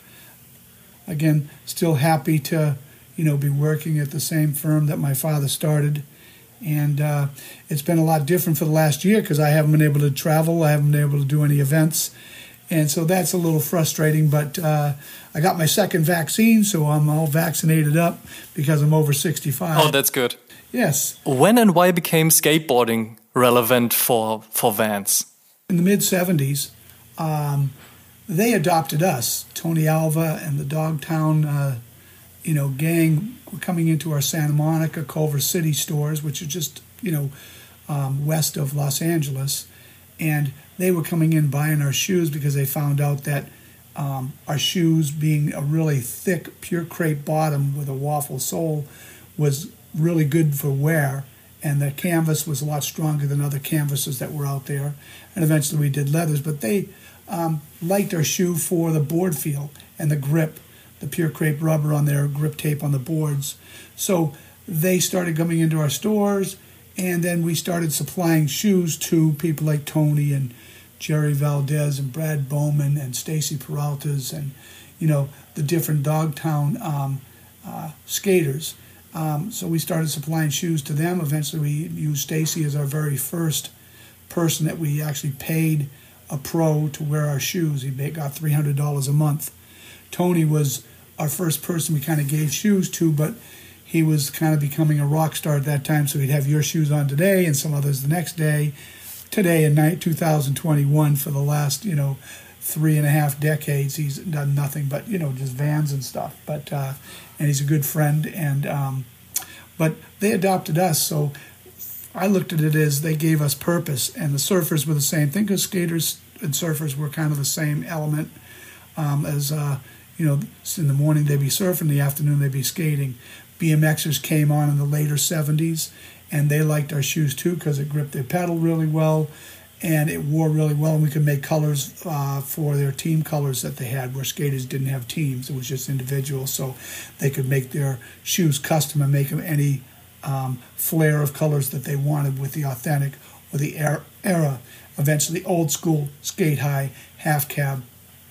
Again, still happy to, you know, be working at the same firm that my father started. And uh, it's been a lot different for the last year because I haven't been able to travel. I haven't been able to do any events. And so that's a little frustrating. But uh, I got my second vaccine, so I'm all vaccinated up because I'm over sixty-five. Oh, that's good. Yes. When and why became skateboarding relevant for, for Vans? In the mid-seventies, um, they adopted us. Tony Alva and the Dogtown uh, you know, gang were coming into our Santa Monica, Culver City stores, which are just, you know, um, west of Los Angeles. And they were coming in buying our shoes because they found out that um, our shoes, being a really thick, pure crepe bottom with a waffle sole, was really good for wear. And the canvas was a lot stronger than other canvases that were out there. And eventually we did leathers. But they um, liked our shoe for the board feel and the grip, the pure crepe rubber on their grip tape on the boards. So they started coming into our stores, and then we started supplying shoes to people like Tony and Jerry Valdez and Brad Bowman and Stacy Peralta's and, you know, the different Dogtown um, uh, skaters. Um, so we started supplying shoes to them. Eventually we used Stacy as our very first person that we actually paid a pro to wear our shoes. He got three hundred dollars a month. Tony was our first person we kind of gave shoes to, but he was kind of becoming a rock star at that time, so he'd have your shoes on today and some others the next day. Today, in two thousand twenty-one, for the last, you know, three and a half decades, he's done nothing but, you know, just Vans and stuff. But uh, and he's a good friend, and um, but they adopted us, so I looked at it as they gave us purpose, and the surfers were the same thing, because skaters and surfers were kind of the same element um, as, uh, you know, in the morning they'd be surfing, in the afternoon they'd be skating. B M Xers came on in the later seventies, and they liked our shoes too because it gripped their pedal really well, and it wore really well, and we could make colors uh, for their team colors that they had, where skaters didn't have teams. It was just individuals, so they could make their shoes custom and make them any um, flare of colors that they wanted with the authentic or the era, era eventually old school, skate high, half cab,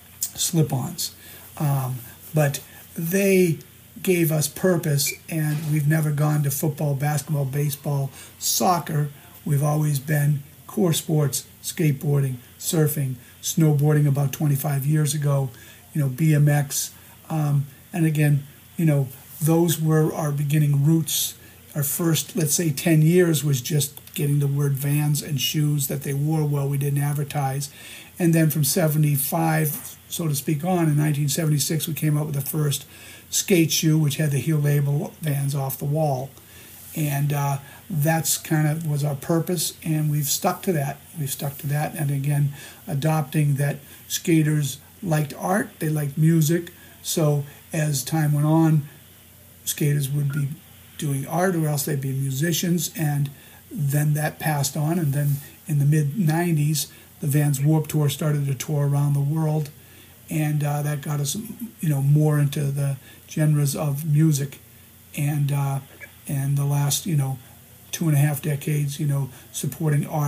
slip-ons. Um, but they gave us purpose, and we've never gone to football, basketball, baseball, soccer. We've always been core sports, skateboarding, surfing, snowboarding about twenty-five years ago, you know, B M X. Um, and again, you know, those were our beginning roots. Our first, let's say, ten years was just getting the word Vans and shoes that they wore well. We didn't advertise. And then from seventy-five, so to speak, on, in nineteen seventy-six, we came up with the first skate shoe, which had the heel label Vans off the wall. And uh, that's kind of was our purpose, and we've stuck to that. We've stuck to that, and again, adopting that skaters liked art, they liked music, so as time went on, skaters would be doing art, or else they'd be musicians, and then that passed on, and then in the mid nineties, the Vans Warped Tour started to tour around the world, and uh, that got us, you know, more into the genres of music, and uh, and the last, you know, two and a half decades, you know, supporting art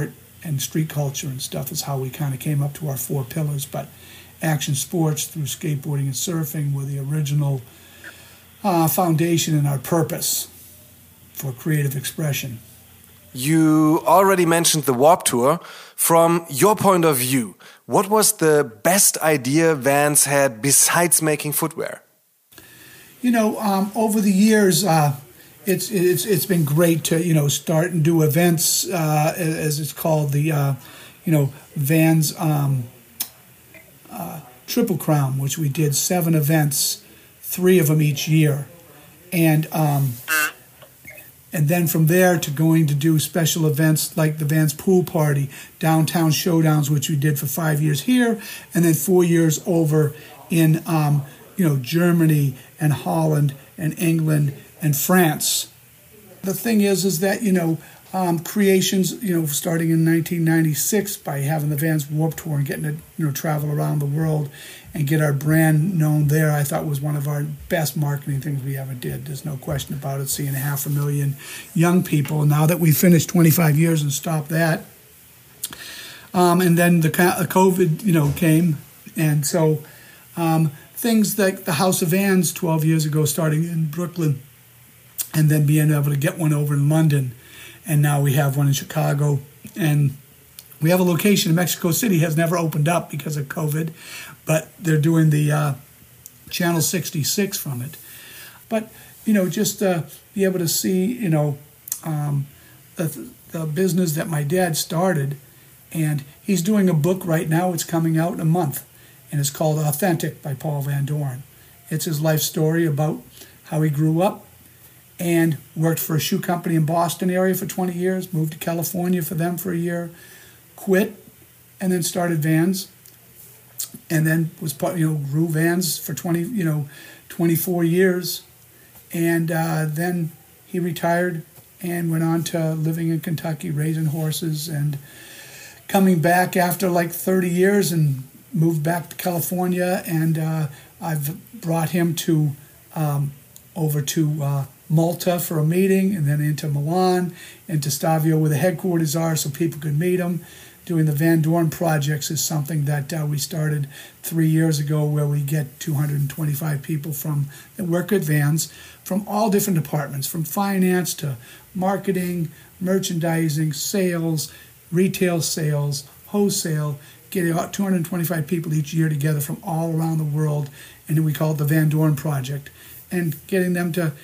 and street culture and stuff is how we kind of came up to our four pillars. But action sports through skateboarding and surfing were the original uh, foundation and our purpose for creative expression. You already mentioned the Warped Tour. From your point of view, what was the best idea Vans had besides making footwear? You know, um, over the years, uh, it's it's it's been great to you know start and do events, uh, as it's called, the uh, you know Vans um, uh, Triple Crown, which we did seven events, three of them each year, and. Um, And then from there to going to do special events like the Vans Pool Party, Downtown Showdowns, which we did for five years here, and then four years over in um, you know Germany and Holland and England and France. The thing is, is that you know um, creations, you know, starting in nineteen ninety-six by having the Vans Warped Tour and getting to you know travel around the world and get our brand known there, I thought was one of our best marketing things we ever did. There's no question about it, seeing half a million young people. Now that we've finished twenty-five years and stopped that. Um, and then the COVID, you know, came. And so um, things like the House of Vans twelve years ago, starting in Brooklyn, and then being able to get one over in London. And now we have one in Chicago. And we have a location in Mexico City, has never opened up because of COVID, but they're doing the uh, Channel sixty-six from it. But, you know, just uh, be able to see, you know, um, the, the business that my dad started, and he's doing a book right now. It's coming out in a month, and it's called Authentic by Paul Van Doren. It's his life story about how he grew up and worked for a shoe company in Boston area for twenty years, moved to California for them for a year, quit, and then started Vans, and then was part, you know, grew Vans for twenty, you know, twenty-four years, and uh, then he retired and went on to living in Kentucky, raising horses, and coming back after like thirty years and moved back to California, and uh, I've brought him to um, over to uh, Malta for a meeting, and then into Milan, into Stabio where the headquarters are so people could meet him. Doing the Van Doren projects is something that uh, we started three years ago, where we get two hundred twenty-five people from that work at Vans from all different departments, from finance to marketing, merchandising, sales, retail sales, wholesale, getting about two hundred twenty-five people each year together from all around the world, and then we call it the Van Doren Project, and getting them to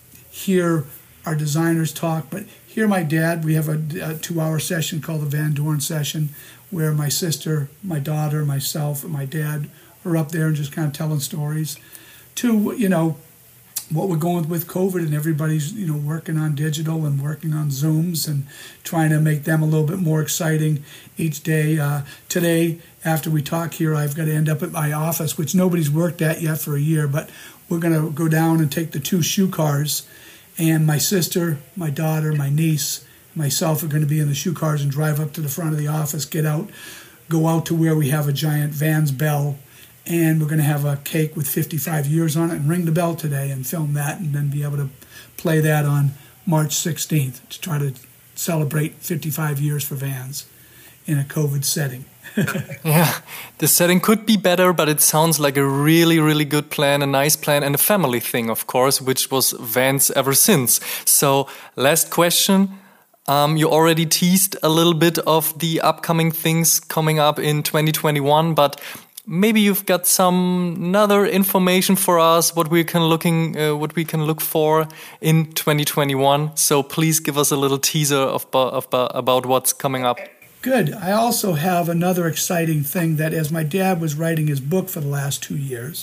hear our designers talk, but hear my dad. We have a, a two-hour session called the Van Doren Session, where my sister, my daughter, myself, and my dad are up there and just kind of telling stories. To, you know, what we're going with COVID, and everybody's, you know, working on digital and working on Zooms and trying to make them a little bit more exciting each day. Uh, today, after we talk here, I've got to end up at my office, which nobody's worked at yet for a year, but we're going to go down and take the two shoe cars. And my sister, my daughter, my niece, myself are going to be in the shoe cars and drive up to the front of the office, get out, go out to where we have a giant Vans bell, and we're going to have a cake with fifty-five years on it and ring the bell today and film that, and then be able to play that on March sixteenth to try to celebrate fifty-five years for Vans in a COVID setting. Yeah, the setting could be better, but it sounds like a really, really good plan, a nice plan, and a family thing, of course, which was Vans ever since. So, last question. Um, you already teased a little bit of the upcoming things coming up in twenty twenty-one, but maybe you've got some other information for us, what we can looking, uh, what we can look for in twenty twenty-one. So please give us a little teaser of, of about what's coming up. Good. I also have another exciting thing that, as my dad was writing his book for the last two years,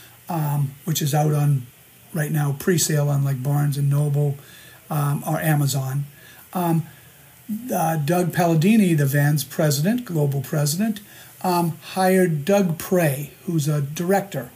um, which is out on right now, pre-sale on like Barnes and Noble um, or Amazon. Um, uh, Doug Palladini, the Vans president, global president, um, hired Doug Prey, who's a director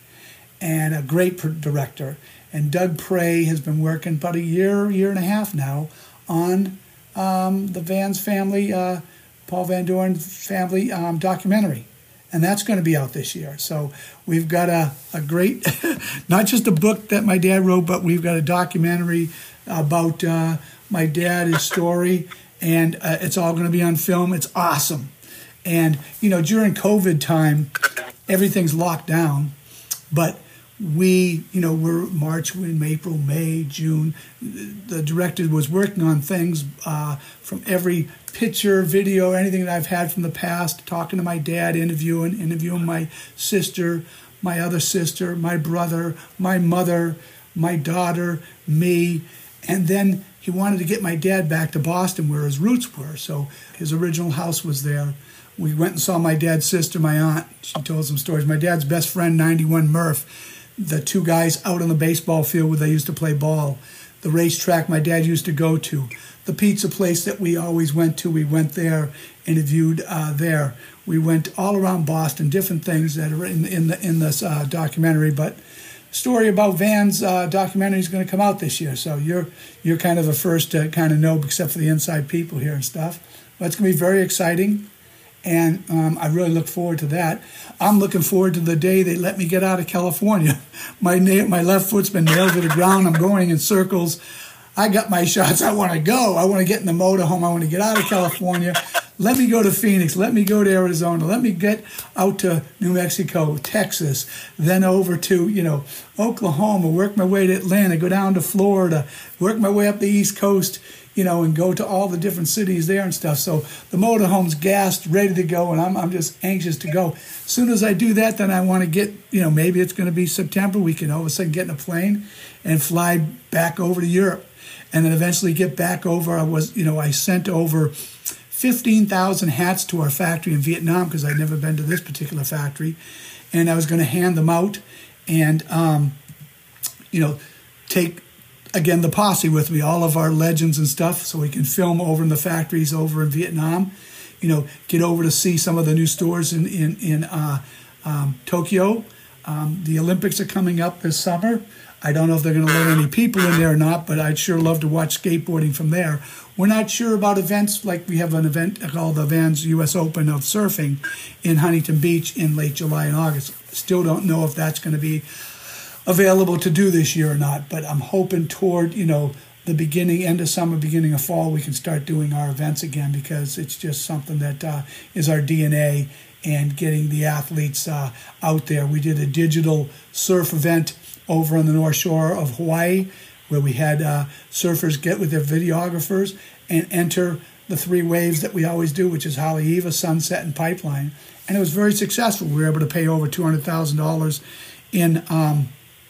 and a great director. And Doug Prey has been working about a year, year and a half now on um, the Vans family, uh, Paul Van Doren family um, documentary. And that's going to be out this year. So we've got a, a great, not just a book that my dad wrote, but we've got a documentary about uh, my dad, his story, and uh, it's all going to be on film. It's awesome. And, you know, during COVID time, everything's locked down, but we, you know, we're March, we're in April, May, June. The director was working on things uh, from every picture, video, anything that I've had from the past, talking to my dad, interviewing, interviewing my sister, my other sister, my brother, my mother, my daughter, me. And then he wanted to get my dad back to Boston where his roots were. So his original house was there. We went and saw my dad's sister, my aunt. She told some stories. My dad's best friend, ninety-one Murph, the two guys out on the baseball field where they used to play ball, the racetrack my dad used to go to, the pizza place that we always went to. We went there, interviewed uh, there. We went all around Boston, different things that are in, in, the, in this uh, documentary. But story about Van's uh, documentary is going to come out this year. So you're you're kind of the first to kind of know, except for the inside people here and stuff. But it's going to be very exciting. And um, I really look forward to that. I'm looking forward to the day they let me get out of California. My na- my left foot's been nailed to the ground. I'm going in circles. I got my shots. I want to go. I want to get in the motorhome. I want to get out of California. Let me go to Phoenix. Let me go to Arizona. Let me get out to New Mexico, Texas, then over to, you know, Oklahoma, work my way to Atlanta, go down to Florida, work my way up the East Coast, you know, and go to all the different cities there and stuff. So the motorhome's gassed, ready to go, and I'm I'm just anxious to go. As soon as I do that, then I want to get, you know, maybe it's going to be September. We can all of a sudden get in a plane and fly back over to Europe, and then eventually get back over. I was, you know, I sent over fifteen thousand hats to our factory in Vietnam because I'd never been to this particular factory, and I was going to hand them out and, um, you know, take, again, the posse with me, all of our legends and stuff, so we can film over in the factories over in Vietnam, you know, get over to see some of the new stores in, in, in uh, um, Tokyo. Um, the Olympics are coming up this summer. I don't know if they're going to let any people in there or not, but I'd sure love to watch skateboarding from there. We're not sure about events, like we have an event called the Vans U S Open of surfing in Huntington Beach in late July and August. Still don't know if that's going to be available to do this year or not, but I'm hoping toward, you know, the beginning, end of summer, beginning of fall, we can start doing our events again, because it's just something that uh, is our D N A, and getting the athletes uh, out there. We did a digital surf event over on the North Shore of Hawaii, where we had uh, surfers get with their videographers and enter the three waves that we always do, which is Haleiwa, Sunset, and Pipeline. And it was very successful. We were able to pay over two hundred thousand dollars in um,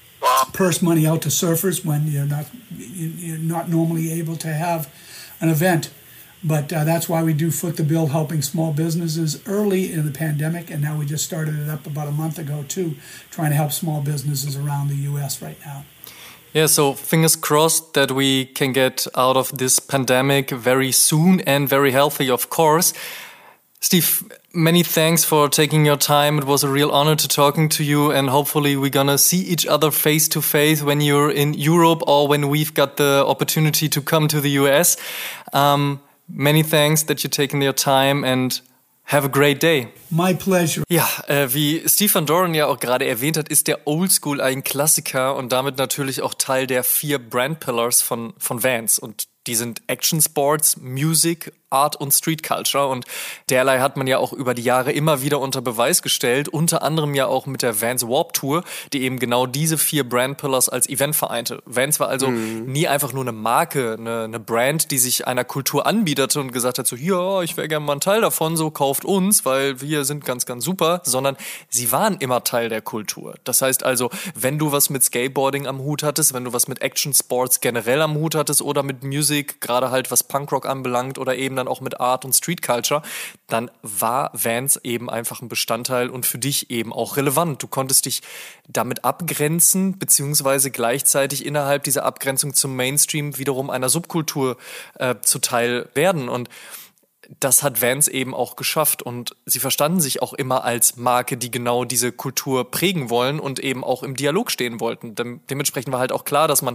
purse money out to surfers when you're not you're not normally able to have an event. But uh, that's why we do Foot the Bill, helping small businesses early in the pandemic, and now we just started it up about a month ago too, trying to help small businesses around the U S right now. Yeah, so fingers crossed that we can get out of this pandemic very soon and very healthy, of course. Steve, many thanks for taking your time. It was a real honor to talking to you, and hopefully we're gonna see each other face to face when you're in Europe or when we've got the opportunity to come to the U S. Um, many thanks that you're taking your time, and have a great day. My pleasure. Ja, äh, wie Steve Van Doren ja auch gerade erwähnt hat, ist der Oldschool ein Klassiker und damit natürlich auch Teil der vier Brand Pillars von, von Vans. Und die sind Action Sports, Music, Art und Street Culture, und derlei hat man ja auch über die Jahre immer wieder unter Beweis gestellt, unter anderem ja auch mit der Vans Warped Tour, die eben genau diese vier Brand Pillars als Event vereinte. Vans war also mhm. nie einfach nur eine Marke, eine, eine Brand, die sich einer Kultur anbieterte und gesagt hat so, ja, ich wäre gerne mal ein Teil davon, so kauft uns, weil wir sind ganz, ganz super, sondern sie waren immer Teil der Kultur. Das heißt also, wenn du was mit Skateboarding am Hut hattest, wenn du was mit Action Sports generell am Hut hattest oder mit Music, gerade halt was Punkrock anbelangt oder eben dann auch mit Art und Street Culture, dann war Vans eben einfach ein Bestandteil und für dich eben auch relevant. Du konntest dich damit abgrenzen, beziehungsweise gleichzeitig innerhalb dieser Abgrenzung zum Mainstream wiederum einer Subkultur äh, zuteil werden, und das hat Vans eben auch geschafft, und sie verstanden sich auch immer als Marke, die genau diese Kultur prägen wollen und eben auch im Dialog stehen wollten. Dem- dementsprechend war halt auch klar, dass man,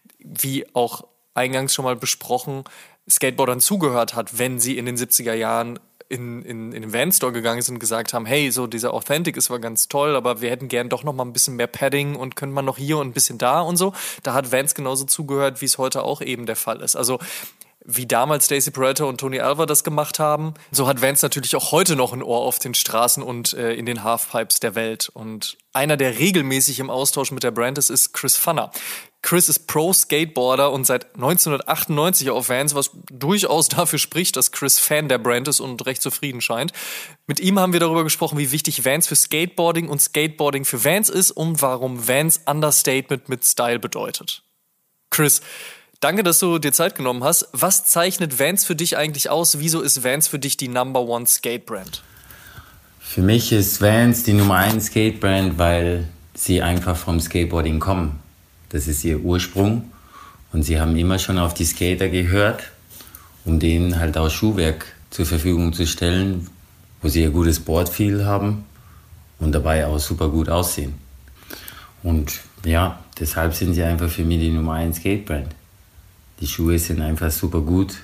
wie auch eingangs schon mal besprochen, Skateboardern zugehört hat, wenn sie in den siebziger Jahren in, in, in den Van-Store gegangen sind und gesagt haben, hey, so dieser Authentic ist zwar ganz toll, aber wir hätten gern doch noch mal ein bisschen mehr Padding und können man noch hier und ein bisschen da und so. Da hat Vans genauso zugehört, wie es heute auch eben der Fall ist. Also wie damals Stacey Peralta und Tony Alva das gemacht haben. So hat Vans natürlich auch heute noch ein Ohr auf den Straßen und äh, in den Halfpipes der Welt. Und einer, der regelmäßig im Austausch mit der Brand ist, ist Chris Pfanner. Chris ist Pro-Skateboarder und seit neunzehnhundertachtundneunzig auf Vans, was durchaus dafür spricht, dass Chris Fan der Brand ist und recht zufrieden scheint. Mit ihm haben wir darüber gesprochen, wie wichtig Vans für Skateboarding und Skateboarding für Vans ist und warum Vans Understatement mit Style bedeutet. Chris, danke, dass du dir Zeit genommen hast. Was zeichnet Vans für dich eigentlich aus? Wieso ist Vans für dich die Number One Skate-Brand? Für mich ist Vans die Nummer eins Skate-Brand, weil sie einfach vom Skateboarding kommen. Das ist ihr Ursprung und sie haben immer schon auf die Skater gehört, um denen halt auch Schuhwerk zur Verfügung zu stellen, wo sie ein gutes Boardfeel haben und dabei auch super gut aussehen. Und ja, deshalb sind sie einfach für mich die Nummer eins Skate-Brand. Die Schuhe sind einfach super gut,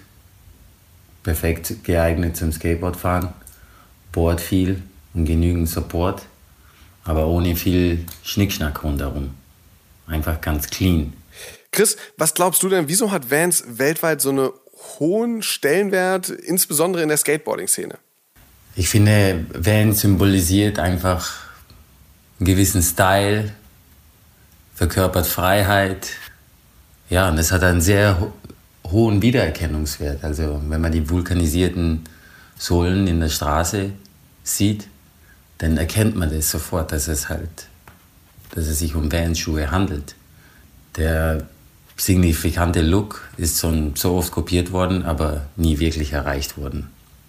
perfekt geeignet zum Skateboardfahren, Boardfeel und genügend Support, aber ohne viel Schnickschnack rundherum. Einfach ganz clean. Chris, was glaubst du denn, wieso hat Vans weltweit so einen hohen Stellenwert, insbesondere in der Skateboarding-Szene? Ich finde, Vans symbolisiert einfach einen gewissen Style, verkörpert Freiheit. Ja, und das hat einen sehr ho- hohen Wiedererkennungswert. Also wenn man die vulkanisierten Sohlen in der Straße sieht, dann erkennt man das sofort, dass es halt dass es sich um Vans-Schuhe handelt. Der signifikante Look ist so, so oft kopiert worden, aber nie wirklich erreicht worden.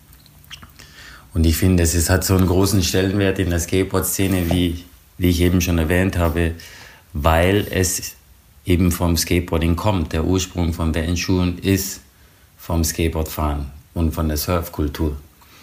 Und ich finde, es hat so einen großen Stellenwert in der Skateboard-Szene, wie, wie ich eben schon erwähnt habe, weil es eben vom Skateboarding kommt. Der Ursprung von Vans-Schuhen ist vom Skateboardfahren und von der Surfkultur.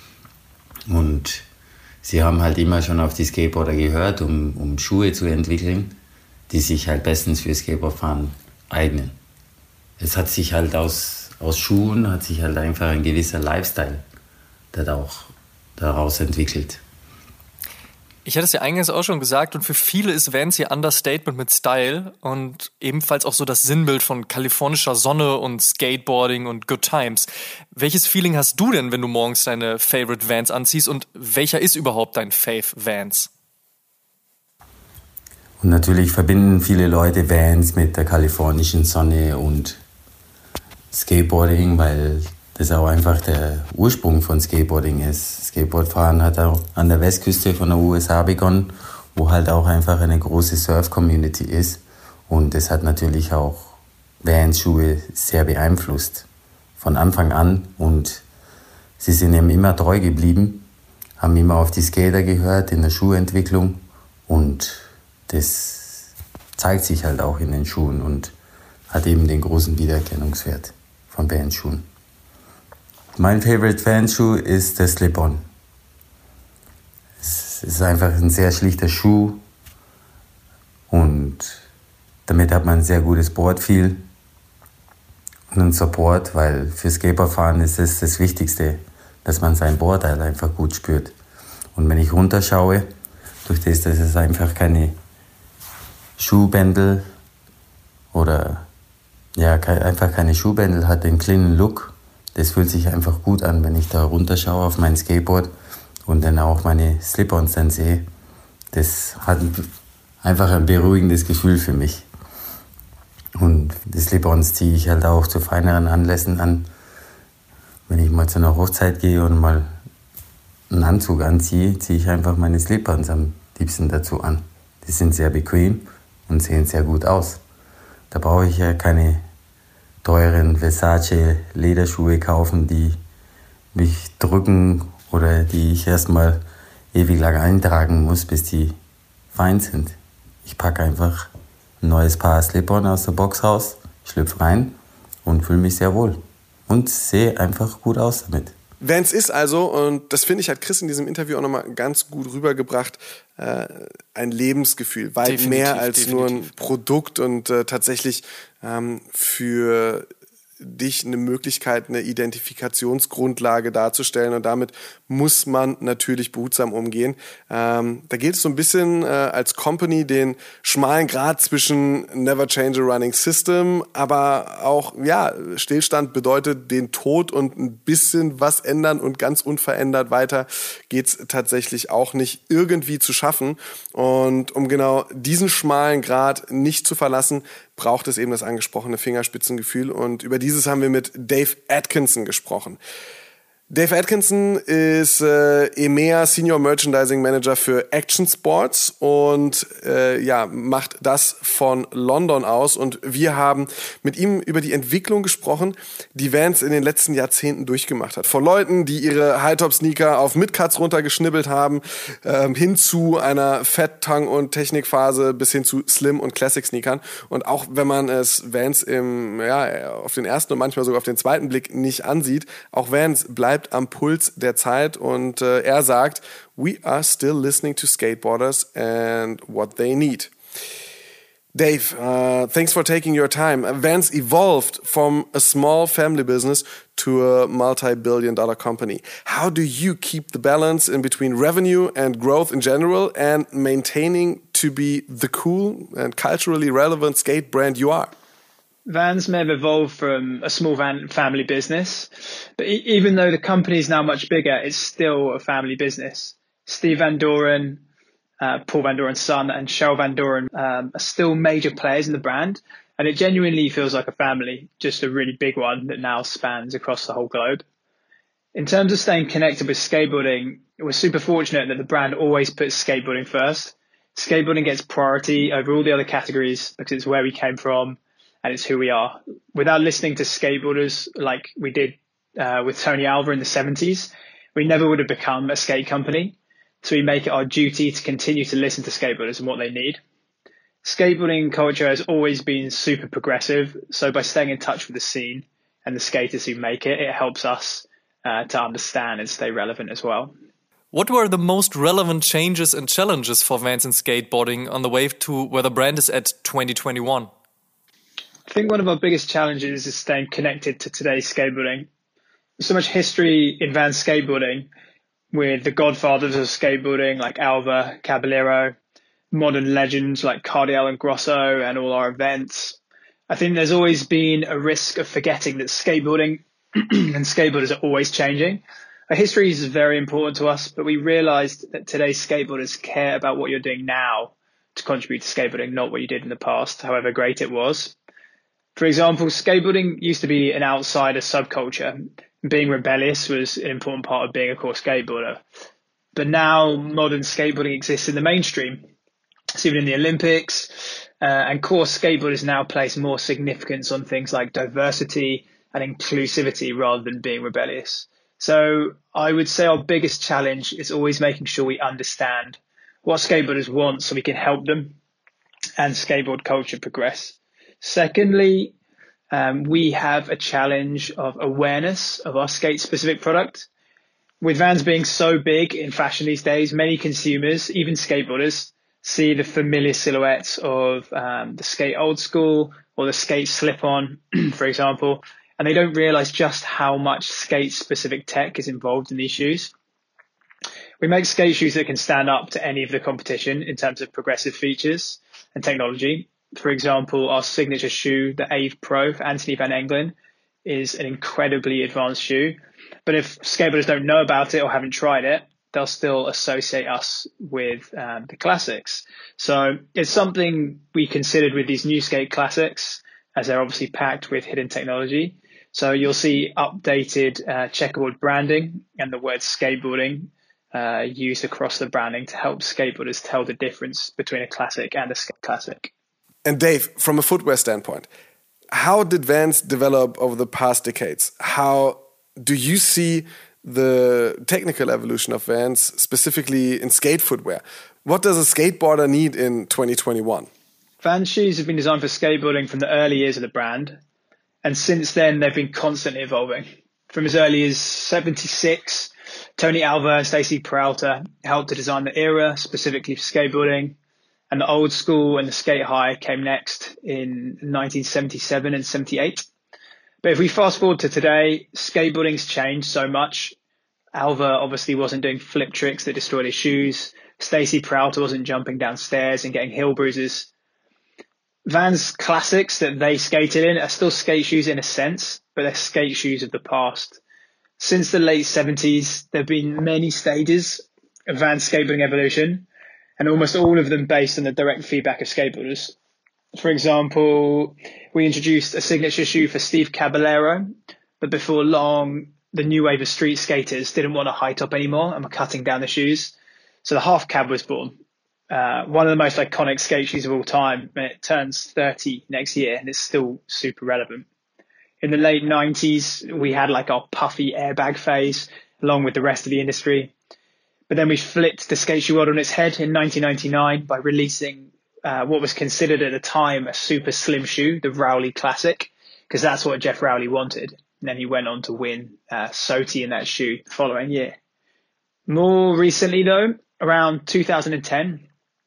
Und sie haben halt immer schon auf die Skateboarder gehört, um, um Schuhe zu entwickeln, die sich halt bestens für Skateboardfahren eignen. Es hat sich halt aus, aus Schuhen, hat sich halt einfach ein gewisser Lifestyle auch daraus entwickelt. Ich hatte es ja eingangs auch schon gesagt und für viele ist Vans ihr Understatement mit Style und ebenfalls auch so das Sinnbild von kalifornischer Sonne und Skateboarding und Good Times. Welches Feeling hast du denn, wenn du morgens deine Favorite Vans anziehst und welcher ist überhaupt dein Fave Vans? Und natürlich verbinden viele Leute Vans mit der kalifornischen Sonne und Skateboarding, weil das auch einfach der Ursprung von Skateboarding ist. Skateboardfahren hat auch an der Westküste von der U S A begonnen, wo halt auch einfach eine große Surf-Community ist. Und das hat natürlich auch Vans-Schuhe sehr beeinflusst. Von Anfang an. Und sie sind eben immer treu geblieben, haben immer auf die Skater gehört in der Schuhentwicklung. Und das zeigt sich halt auch in den Schuhen und hat eben den großen Wiedererkennungswert von Vans-Schuhen. Mein Favorite Vans-Schuh ist der Slip-On. Es ist einfach ein sehr schlichter Schuh und damit hat man ein sehr gutes Boardfeel und einen Support, weil für Skateboardfahren ist es das Wichtigste, dass man sein Boardteil einfach gut spürt. Und wenn ich runterschaue, durch das, dass es einfach keine Schuhbändel oder ja, einfach keine Schuhbändel hat, den cleanen Look. Das fühlt sich einfach gut an, wenn ich da runterschaue auf mein Skateboard und dann auch meine Slip-Ons dann sehe. Das hat einfach ein beruhigendes Gefühl für mich. Und die Slip-Ons ziehe ich halt auch zu feineren Anlässen an. Wenn ich mal zu einer Hochzeit gehe und mal einen Anzug anziehe, ziehe ich einfach meine Slip-Ons am liebsten dazu an. Die sind sehr bequem und sehen sehr gut aus. Da brauche ich ja keine teuren Versace-Lederschuhe kaufen, die mich drücken oder die ich erstmal ewig lang eintragen muss, bis die fein sind. Ich packe einfach ein neues Paar Slip-On aus der Box raus, schlüpfe rein und fühle mich sehr wohl. Und sehe einfach gut aus damit. Vans ist also, und das finde ich, hat Chris in diesem Interview auch nochmal ganz gut rübergebracht, äh, ein Lebensgefühl, weit Definitiv, mehr als definitiv. nur ein Produkt und äh, tatsächlich ähm, für dich eine Möglichkeit, eine Identifikationsgrundlage darzustellen und damit muss man natürlich behutsam umgehen. Ähm, da gilt es so ein bisschen äh, als Company den schmalen Grat zwischen never change a running system, aber auch, ja, Stillstand bedeutet den Tod und ein bisschen was ändern und ganz unverändert weiter geht's tatsächlich auch nicht irgendwie zu schaffen. Und um genau diesen schmalen Grat nicht zu verlassen, braucht es eben das angesprochene Fingerspitzengefühl. Und über dieses haben wir mit Dave Atkinson gesprochen. Dave Atkinson ist äh, E M E A Senior Merchandising Manager für Action Sports und äh, ja, macht das von London aus. Und wir haben mit ihm über die Entwicklung gesprochen, die Vans in den letzten Jahrzehnten durchgemacht hat. Von Leuten, die ihre High-Top-Sneaker auf Midcuts runtergeschnibbelt haben, ähm, hin zu einer Fat, Tongue und Technikphase bis hin zu Slim- und Classic-Sneakern. Und auch wenn man es Vans im, ja, auf den ersten und manchmal sogar auf den zweiten Blick nicht ansieht, auch Vans bleibt am Puls der Zeit und äh, er sagt, we are still listening to skateboarders and what they need. Dave, uh, thanks for taking your time. Vans evolved from a small family business to a multi-billion dollar company. How do you keep the balance in between revenue and growth in general and maintaining to be the cool and culturally relevant skate brand you are? Vans may have evolved from a small van family business, but e- even though the company is now much bigger, it's still a family business. Steve Van Doren, uh, Paul Van Doren's son, and Cheryl Van Doren um, are still major players in the brand, and it genuinely feels like a family, just a really big one that now spans across the whole globe. In terms of staying connected with skateboarding, we're super fortunate that the brand always puts skateboarding first. Skateboarding gets priority over all the other categories because it's where we came from, and it's who we are. Without listening to skateboarders like we did uh, with Tony Alva in the seventies, we never would have become a skate company. So we make it our duty to continue to listen to skateboarders and what they need. Skateboarding culture has always been super progressive. So by staying in touch with the scene and the skaters who make it, it helps us uh, to understand and stay relevant as well. What were the most relevant changes and challenges for Vans in skateboarding on the way to where the brand is at twenty twenty-one? I think one of our biggest challenges is staying connected to today's skateboarding. There's so much history in Vans skateboarding with the godfathers of skateboarding like Alva, Caballero, modern legends like Cardiel and Grosso, and all our events. I think there's always been a risk of forgetting that skateboarding and skateboarders are always changing. Our history is very important to us, but we realized that today's skateboarders care about what you're doing now to contribute to skateboarding, not what you did in the past, however great it was. For example, skateboarding used to be an outsider subculture. Being rebellious was an important part of being a core skateboarder. But now modern skateboarding exists in the mainstream. It's even in the Olympics. Uh, and core skateboarders now place more significance on things like diversity and inclusivity rather than being rebellious. So I would say our biggest challenge is always making sure we understand what skateboarders want so we can help them and skateboard culture progress. Secondly, um, we have a challenge of awareness of our skate-specific product. With Vans being so big in fashion these days, many consumers, even skateboarders, see the familiar silhouettes of um, the skate old school or the skate slip-on, for example, and they don't realize just how much skate-specific tech is involved in these shoes. We make skate shoes that can stand up to any of the competition in terms of progressive features and technology. For example, our signature shoe, the Ave Pro for Anthony Van Engelen, is an incredibly advanced shoe. But if skateboarders don't know about it or haven't tried it, they'll still associate us with um, the classics. So it's something we considered with these new skate classics, as they're obviously packed with hidden technology. So you'll see updated uh, checkerboard branding and the word skateboarding uh, used across the branding to help skateboarders tell the difference between a classic and a skate classic. And Dave, from a footwear standpoint, how did Vans develop over the past decades? How do you see the technical evolution of Vans, specifically in skate footwear? What does a skateboarder need in twenty twenty-one? Vans shoes have been designed for skateboarding from the early years of the brand. And since then, they've been constantly evolving. From as early as seventy-six, Tony Alva and Stacy Peralta helped to design the era specifically for skateboarding. And the old school and the skate high came next in nineteen seventy-seven and seventy-eight. But if we fast forward to today, skateboarding's changed so much. Alva obviously wasn't doing flip tricks that destroyed his shoes. Stacy Peralta wasn't jumping downstairs and getting heel bruises. Vans classics that they skated in are still skate shoes in a sense, but they're skate shoes of the past. Since the late seventies, there have been many stages of Vans skateboarding evolution, and almost all of them based on the direct feedback of skateboarders. For example, we introduced a signature shoe for Steve Caballero, but before long, the new wave of street skaters didn't want a high top anymore and were cutting down the shoes. So the half cab was born. Uh, one of the most iconic skate shoes of all time, and it turns thirty next year and it's still super relevant. In the late nineties, we had like our puffy airbag phase along with the rest of the industry. But then we flipped the skate shoe world on its head in nineteen ninety-nine by releasing uh, what was considered at the time a super slim shoe, the Rowley Classic, because that's what Jeff Rowley wanted. And then he went on to win uh, S O T in that shoe the following year. More recently though, around two thousand ten,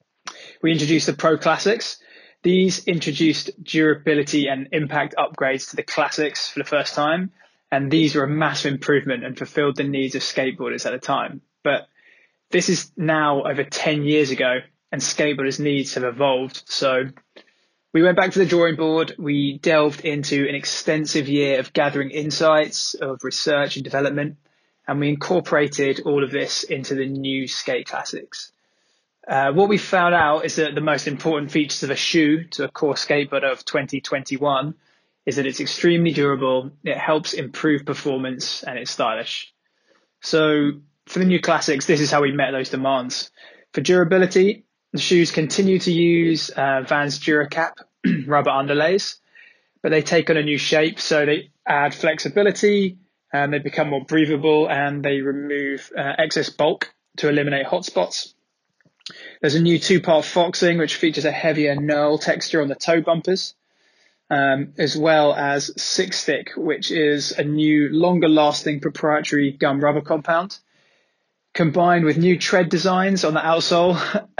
we introduced the Pro Classics. These introduced durability and impact upgrades to the Classics for the first time. And these were a massive improvement and fulfilled the needs of skateboarders at the time. But this is now over ten years ago and skateboarders' needs have evolved. So we went back to the drawing board. We delved into an extensive year of gathering insights, of research and development. And we incorporated all of this into the new Skate Classics. Uh, what we found out is that the most important features of a shoe to a core skateboarder of twenty twenty-one is that it's extremely durable, it helps improve performance, and it's stylish. So for the new Classics, this is how we met those demands. For durability, the shoes continue to use uh, Vans DuraCap rubber underlays, but they take on a new shape. So they add flexibility, and they become more breathable, and they remove uh, excess bulk to eliminate hot spots. There's a new two-part foxing, which features a heavier knurl texture on the toe bumpers, um, as well as Six Stick, which is a new, longer-lasting proprietary gum rubber compound, combined with new tread designs on the outsole.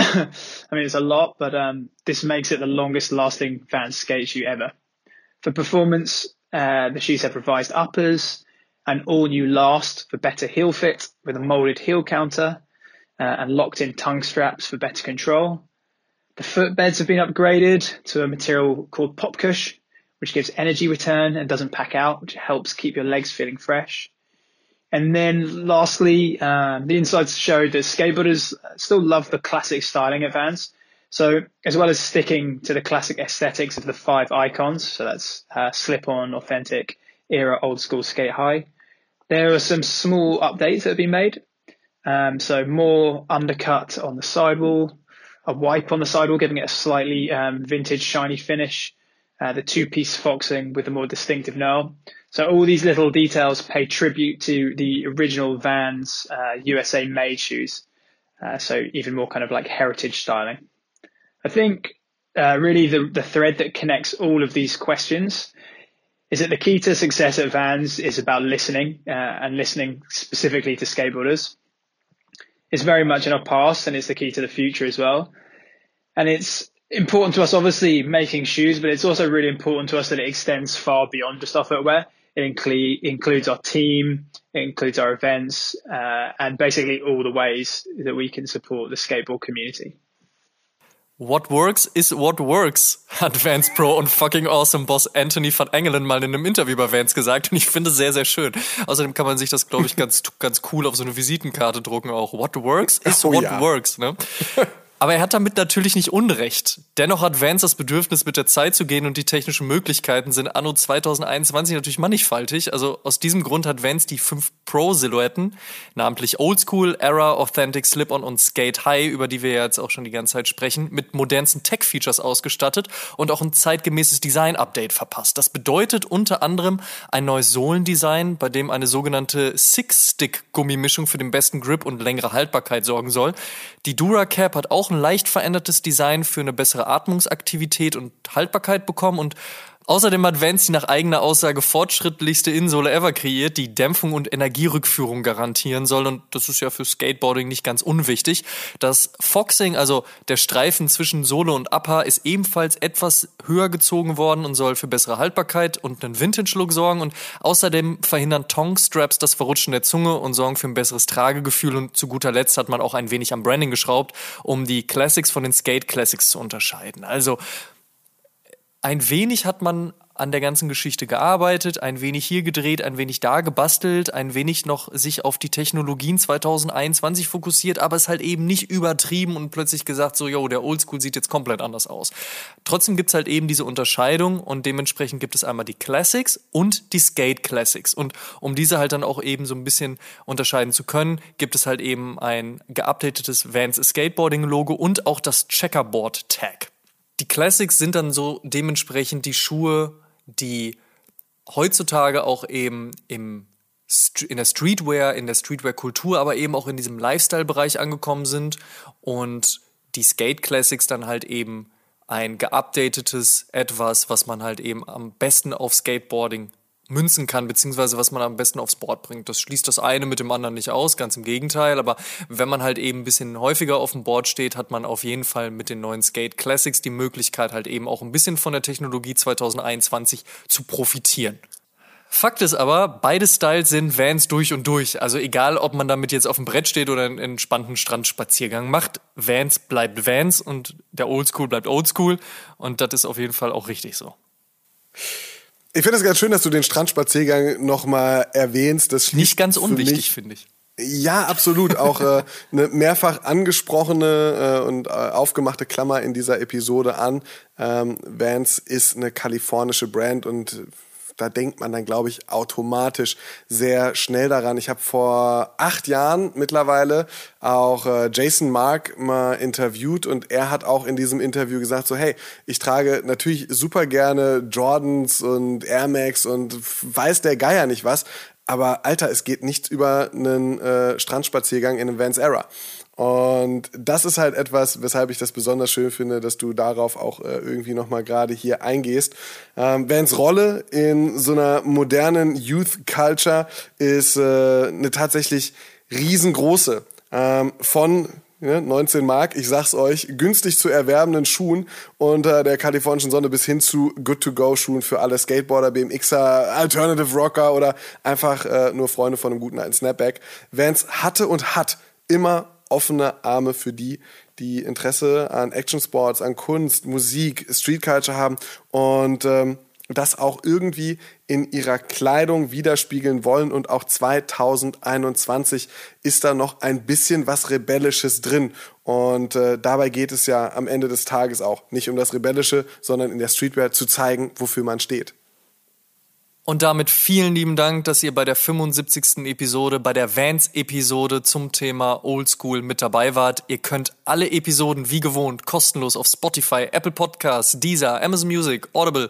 I mean, it's a lot, but um, this makes it the longest-lasting Vans skate shoe ever. For performance, uh, the shoes have revised uppers, an all-new last for better heel fit with a molded heel counter, Uh, and locked-in tongue straps for better control. The footbeds have been upgraded to a material called Popcush, which gives energy return and doesn't pack out, which helps keep your legs feeling fresh. And then lastly, um, the insights showed that skateboarders still love the classic styling at Vans. So as well as sticking to the classic aesthetics of the five icons, so that's uh, slip-on, authentic, era, old school, skate high, there are some small updates that have been made. Um, so more undercut on the sidewall, a wipe on the sidewall, giving it a slightly um, vintage shiny finish, uh, the two-piece foxing with a more distinctive knurl. So all these little details pay tribute to the original Vans uh, U S A made shoes. Uh, so even more kind of like heritage styling. I think uh, really the, the thread that connects all of these questions is that the key to success at Vans is about listening uh, and listening specifically to skateboarders. It's very much in our past and it's the key to the future as well. And it's important to us, obviously, making shoes, but it's also really important to us that it extends far beyond just our footwear. It include, includes our team, it includes our events, uh, and basically all the ways that we can support the skateboard community. What works is what works, hat Vans Pro und fucking awesome Boss Anthony van Engelen mal in einem Interview bei Vans gesagt und ich finde sehr, sehr schön. Außerdem kann man sich das, glaube ich, ganz, ganz cool auf so eine Visitenkarte drucken auch. What works is oh, what ja. works, ne? Aber er hat damit natürlich nicht Unrecht. Dennoch hat Vans das Bedürfnis, mit der Zeit zu gehen und die technischen Möglichkeiten sind anno zwanzig einundzwanzig natürlich mannigfaltig. Also aus diesem Grund hat Vans die fünf Pro-Silhouetten, namentlich Oldschool, Era, Authentic, Slip-On und Skate High, über die wir jetzt auch schon die ganze Zeit sprechen, mit modernsten Tech-Features ausgestattet und auch ein zeitgemäßes Design-Update verpasst. Das bedeutet unter anderem ein neues Sohlendesign, bei dem eine sogenannte Six-Stick-Gummimischung für den besten Grip und längere Haltbarkeit sorgen soll. Die DuraCap hat auch ein leicht verändertes Design für eine bessere Atmungsaktivität und Haltbarkeit bekommen und Außerdem hat Vans die nach eigener Aussage fortschrittlichste Innensohle ever kreiert, die Dämpfung und Energierückführung garantieren soll. Und das ist ja für Skateboarding nicht ganz unwichtig. Das Foxing, also der Streifen zwischen Sohle und Upper, ist ebenfalls etwas höher gezogen worden und soll für bessere Haltbarkeit und einen Vintage-Look sorgen. Und außerdem verhindern Tongue-Straps das Verrutschen der Zunge und sorgen für ein besseres Tragegefühl. Und zu guter Letzt hat man auch ein wenig am Branding geschraubt, um die Classics von den Skate Classics zu unterscheiden. Also ein wenig hat man an der ganzen Geschichte gearbeitet, ein wenig hier gedreht, ein wenig da gebastelt, ein wenig noch sich auf die Technologien zwanzig einundzwanzig fokussiert, aber es halt eben nicht übertrieben und plötzlich gesagt so, yo, der Oldschool sieht jetzt komplett anders aus. Trotzdem gibt's halt eben diese Unterscheidung und dementsprechend gibt es einmal die Classics und die Skate Classics. Und um diese halt dann auch eben so ein bisschen unterscheiden zu können, gibt es halt eben ein geupdatetes Vans Skateboarding Logo und auch das Checkerboard Tag. Die Classics sind dann so dementsprechend die Schuhe, die heutzutage auch eben im, in der Streetwear, in der Streetwear-Kultur, aber eben auch in diesem Lifestyle-Bereich angekommen sind und die Skate Classics dann halt eben ein geupdatetes Etwas, was man halt eben am besten auf Skateboarding münzen kann, beziehungsweise was man am besten aufs Board bringt. Das schließt das eine mit dem anderen nicht aus, ganz im Gegenteil, aber wenn man halt eben ein bisschen häufiger auf dem Board steht, hat man auf jeden Fall mit den neuen Skate Classics die Möglichkeit halt eben auch ein bisschen von der Technologie zwanzig einundzwanzig zu profitieren. Fakt ist aber, beide Styles sind Vans durch und durch. Also egal, ob man damit jetzt auf dem Brett steht oder einen entspannten Strandspaziergang macht, Vans bleibt Vans und der Oldschool bleibt Oldschool und das ist auf jeden Fall auch richtig so. Ich finde es ganz schön, dass du den Strandspaziergang nochmal erwähnst. Das nicht ganz unwichtig, finde ich. Ja, absolut. Auch äh, eine mehrfach angesprochene äh, und äh, aufgemachte Klammer in dieser Episode an. Ähm, Vans ist eine kalifornische Brand und da denkt man dann, glaube ich, automatisch sehr schnell daran. Ich habe vor acht Jahren mittlerweile auch äh, Jason Mark mal interviewt und er hat auch in diesem Interview gesagt so, hey, ich trage natürlich super gerne Jordans und Air Max und weiß der Geier nicht was, aber Alter, es geht nicht über einen äh, Strandspaziergang in einem Vans Era. Und das ist halt etwas, weshalb ich das besonders schön finde, dass du darauf auch äh, irgendwie nochmal gerade hier eingehst. Ähm, Vans Rolle in so einer modernen Youth Culture ist äh, eine tatsächlich riesengroße. Ähm, von ja, neunzehn Mark, ich sag's euch, günstig zu erwerbenden Schuhen unter der kalifornischen Sonne bis hin zu Good-to-Go-Schuhen für alle Skateboarder, B M Xer, Alternative Rocker oder einfach äh, nur Freunde von einem guten alten Snapback. Vans hatte und hat immer offene Arme für die, die Interesse an Action-Sports, an Kunst, Musik, Street Culture haben und ähm, das auch irgendwie in ihrer Kleidung widerspiegeln wollen. Und auch zwanzig einundzwanzig ist da noch ein bisschen was Rebellisches drin. Und äh, dabei geht es ja am Ende des Tages auch nicht um das Rebellische, sondern in der Streetwear zu zeigen, wofür man steht. Und damit vielen lieben Dank, dass ihr bei der fünfundsiebzigsten Episode, bei der Vans-Episode zum Thema Oldschool mit dabei wart. Ihr könnt alle Episoden wie gewohnt kostenlos auf Spotify, Apple Podcasts, Deezer, Amazon Music, Audible,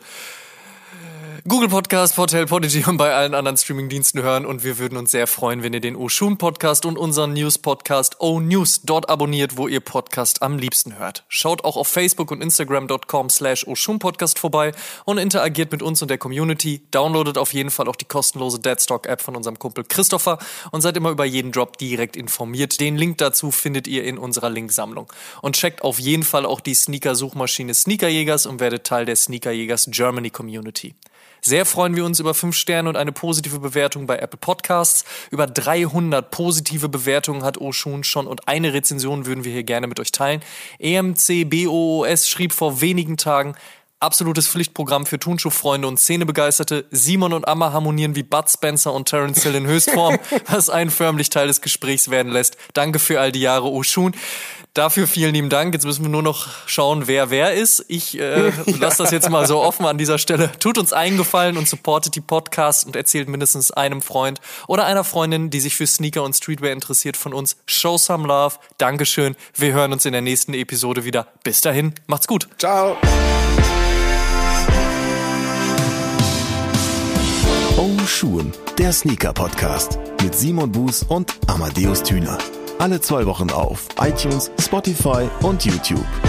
Google Podcast, Portal, Podigy und bei allen anderen Streamingdiensten hören. Und wir würden uns sehr freuen, wenn ihr den Oshun Podcast und unseren News-Podcast O-News dort abonniert, wo ihr Podcast am liebsten hört. Schaut auch auf Facebook und Instagram dot com slash Oshun Podcast vorbei und interagiert mit uns und der Community. Downloadet auf jeden Fall auch die kostenlose Deadstock-App von unserem Kumpel Christopher und seid immer über jeden Drop direkt informiert. Den Link dazu findet ihr in unserer Linksammlung. Und checkt auf jeden Fall auch die Sneaker-Suchmaschine Sneakerjägers und werdet Teil der Sneakerjägers Germany Community. Sehr freuen wir uns über fünf Sterne und eine positive Bewertung bei Apple Podcasts. Über dreihundert positive Bewertungen hat Oshun schon und eine Rezension würden wir hier gerne mit euch teilen. E M C B O O S schrieb vor wenigen Tagen: absolutes Pflichtprogramm für Turnschuhfreunde und Szenebegeisterte. Simon und Amma harmonieren wie Bud Spencer und Terence Hill in Höchstform, was einen förmlich Teil des Gesprächs werden lässt. Danke für all die Jahre, Oshun. Dafür vielen lieben Dank. Jetzt müssen wir nur noch schauen, wer wer ist. Ich äh, lasse das jetzt mal so offen an dieser Stelle. Tut uns einen Gefallen und supportet die Podcasts und erzählt mindestens einem Freund oder einer Freundin, die sich für Sneaker und Streetwear interessiert, von uns. Show some love. Dankeschön. Wir hören uns in der nächsten Episode wieder. Bis dahin, macht's gut. Ciao. Oshun, der Sneaker-Podcast mit Simon Buß und Amadeus Thüner. Alle zwei Wochen auf iTunes, Spotify und YouTube.